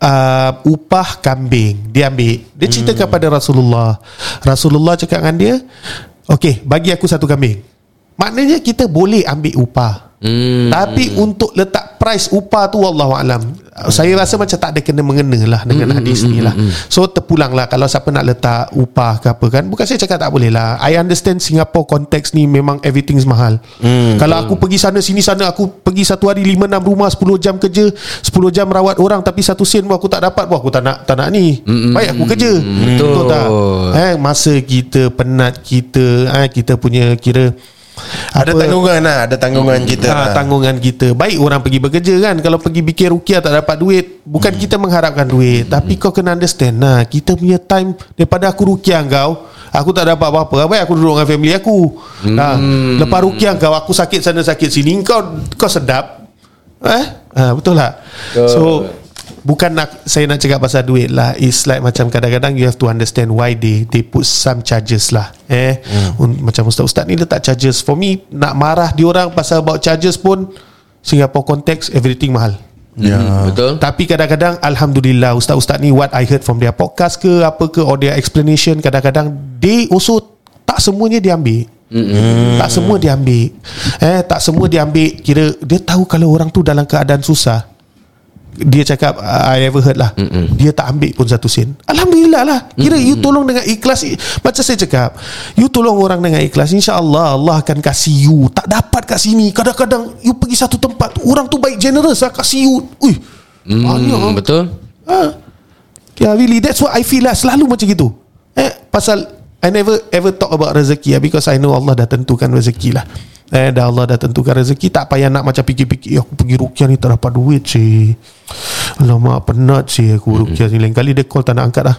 upah kambing. Dia ambil, dia cerita kepada Rasulullah. Rasulullah cakap dengan dia, okey, bagi aku satu kambing. Maknanya kita boleh ambil upah, tapi untuk letak price upah tu wallahualam, saya rasa macam tak ada kena-mengena lah dengan hadis ni lah. So terpulang lah, kalau siapa nak letak upah ke apa kan, bukan saya cakap tak boleh lah. I understand Singapore konteks ni memang everything's mahal. Kalau aku pergi sana sini sana, aku pergi satu hari 5-6 rumah, 10 jam kerja, 10 jam rawat orang, tapi 1 sen pun aku tak dapat, aku tak nak ni. Baik aku kerja. Betul tak? Masa kita penat, kita punya kira ada tanggungan lah, ada tanggungan kita. Tanggungan kita. Baik orang pergi bekerja kan, kalau pergi bikin rukiah tak dapat duit, bukan kita mengharapkan duit, tapi kau kena understand, kita punya time, daripada aku rukiah kau, aku tak dapat apa-apa, baik aku duduk dengan family aku. Lepas rukiah kau, aku sakit sana sakit sini, kau sedap. Betul tak? So bukan saya nak cakap pasal duit lah. It's like macam kadang-kadang you have to understand why they put some charges lah. Macam ustaz-ustaz ni letak charges. For me, nak marah diorang pasal about charges pun, Singapore konteks everything mahal. Betul. Tapi kadang-kadang alhamdulillah, ustaz-ustaz ni, what I heard from their podcast ke apa ke, or their explanation, kadang-kadang they also tak semuanya diambil. Tak semua diambil. Tak semua diambil. Kira dia tahu kalau orang tu dalam keadaan susah, dia cakap, I ever heard lah, dia tak ambil pun 1 sen. Alhamdulillah lah. Kira you tolong dengan ikhlas. Macam saya cakap, you tolong orang dengan ikhlas, InsyaAllah Allah akan kasih you. Tak dapat kat sini, kadang-kadang you pergi satu tempat, orang tu baik, generous lah, kasih you. Banyak. Betul. Really, that's what I feel lah. Selalu macam gitu. Pasal I never ever talk about rezeki lah, because I know Allah dah tentukan rezeki lah. Dah Allah dah tentukan rezeki, tak payah nak macam fikir-fikir, aku pergi rukiah ni tak dapat duit sih, alamak penat sih aku rukiah ni. Lain kali dia call tak nak angkat dah.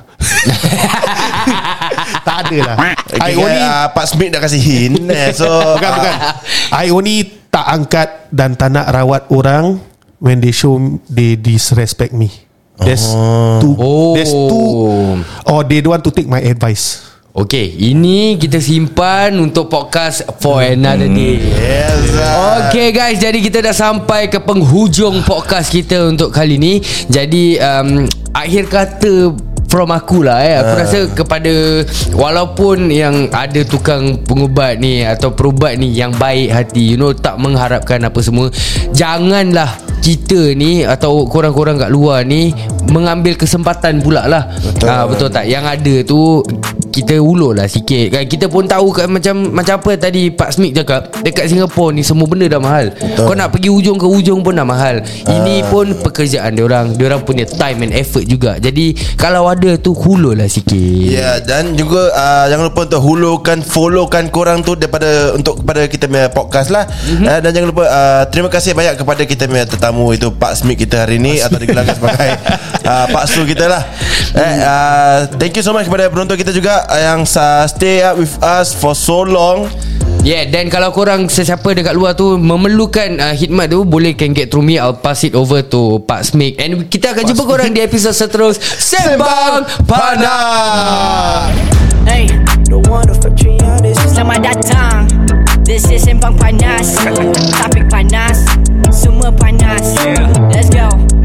Tak ada lah. I only Pak Smith dah kasi hint. So bukan I only tak angkat dan tak nak rawat orang when they show they disrespect me. There's two, or they don't want to take my advice. Okay, ini kita simpan untuk podcast for another day. Okay guys, jadi kita dah sampai ke penghujung podcast kita untuk kali ni. Jadi akhir kata from aku lah aku rasa kepada, walaupun yang ada tukang pengubat ni atau perubat ni yang baik hati, tak mengharapkan apa semua, janganlah kita ni atau korang-korang kat luar ni mengambil kesempatan pula lah. Betul tak? Yang ada tu kita ulur lah sikit kan. Kita pun tahu kan, macam apa tadi Pak Smith cakap, dekat Singapura ni semua benda dah mahal. Kau nak pergi ujung ke ujung pun dah mahal. Ini pun pekerjaan diorang punya time and effort juga. Jadi kalau ada tu hulur lah sikit. Ya, dan juga jangan lupa untuk hulurkan, followkan korang tu kepada kita punya podcast lah. Dan jangan lupa terima kasih banyak kepada kita punya tetamu itu Pak Smith kita hari ni, atau digelakkan sebagai Pak Su kita lah. Thank you so much kepada penonton kita juga yang stay up with us for so long. Yeah, dan kalau korang sesiapa dekat luar tu memerlukan khidmat tu, boleh can get through me, I'll pass it over to Pak Smith. And kita akan jumpa korang di episod seterus Sembang Panas. Hey, selamat datang. This is Sembang Panas. Topik panas, semua panas. Let's go.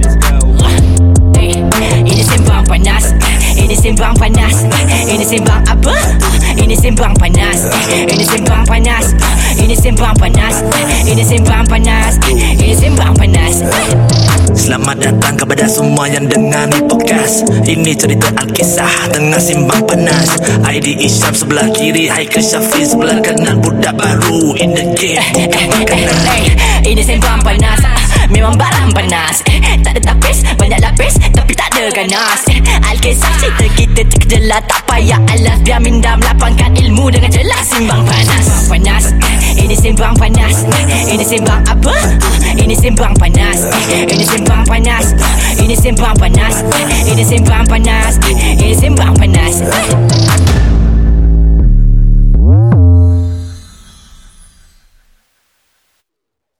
Ini Sembang Panas. Ini Sembang Panas. Ini Sembang apa? Ini Sembang Panas. Ini Sembang Panas. Ini Sembang Panas. Ini Sembang Panas. Ini Sembang Panas. Selamat datang kepada semua yang dengar ni podcast. Ini cerita Alkisah tengah simbang panas. ID Isyam sebelah kiri, Haikal Syafiq sebelah kanan. Budak baru in the game. Ini Sembang Panas. Memang barang panas. Tak ada tapis, banyak lapis, tapi tak ada ganas. Alkisah cerita kita terkejelah, tak payah alas. Biar minda melapangkan ilmu dengan jelas. Simbang Panas. Panas. Ini Sembang Panas. Ini Sembang apa? Ini Sembang Panas. Ini Sembang Panas. Ini Sembang Panas. Ini Sembang Panas. Ini Sembang Panas.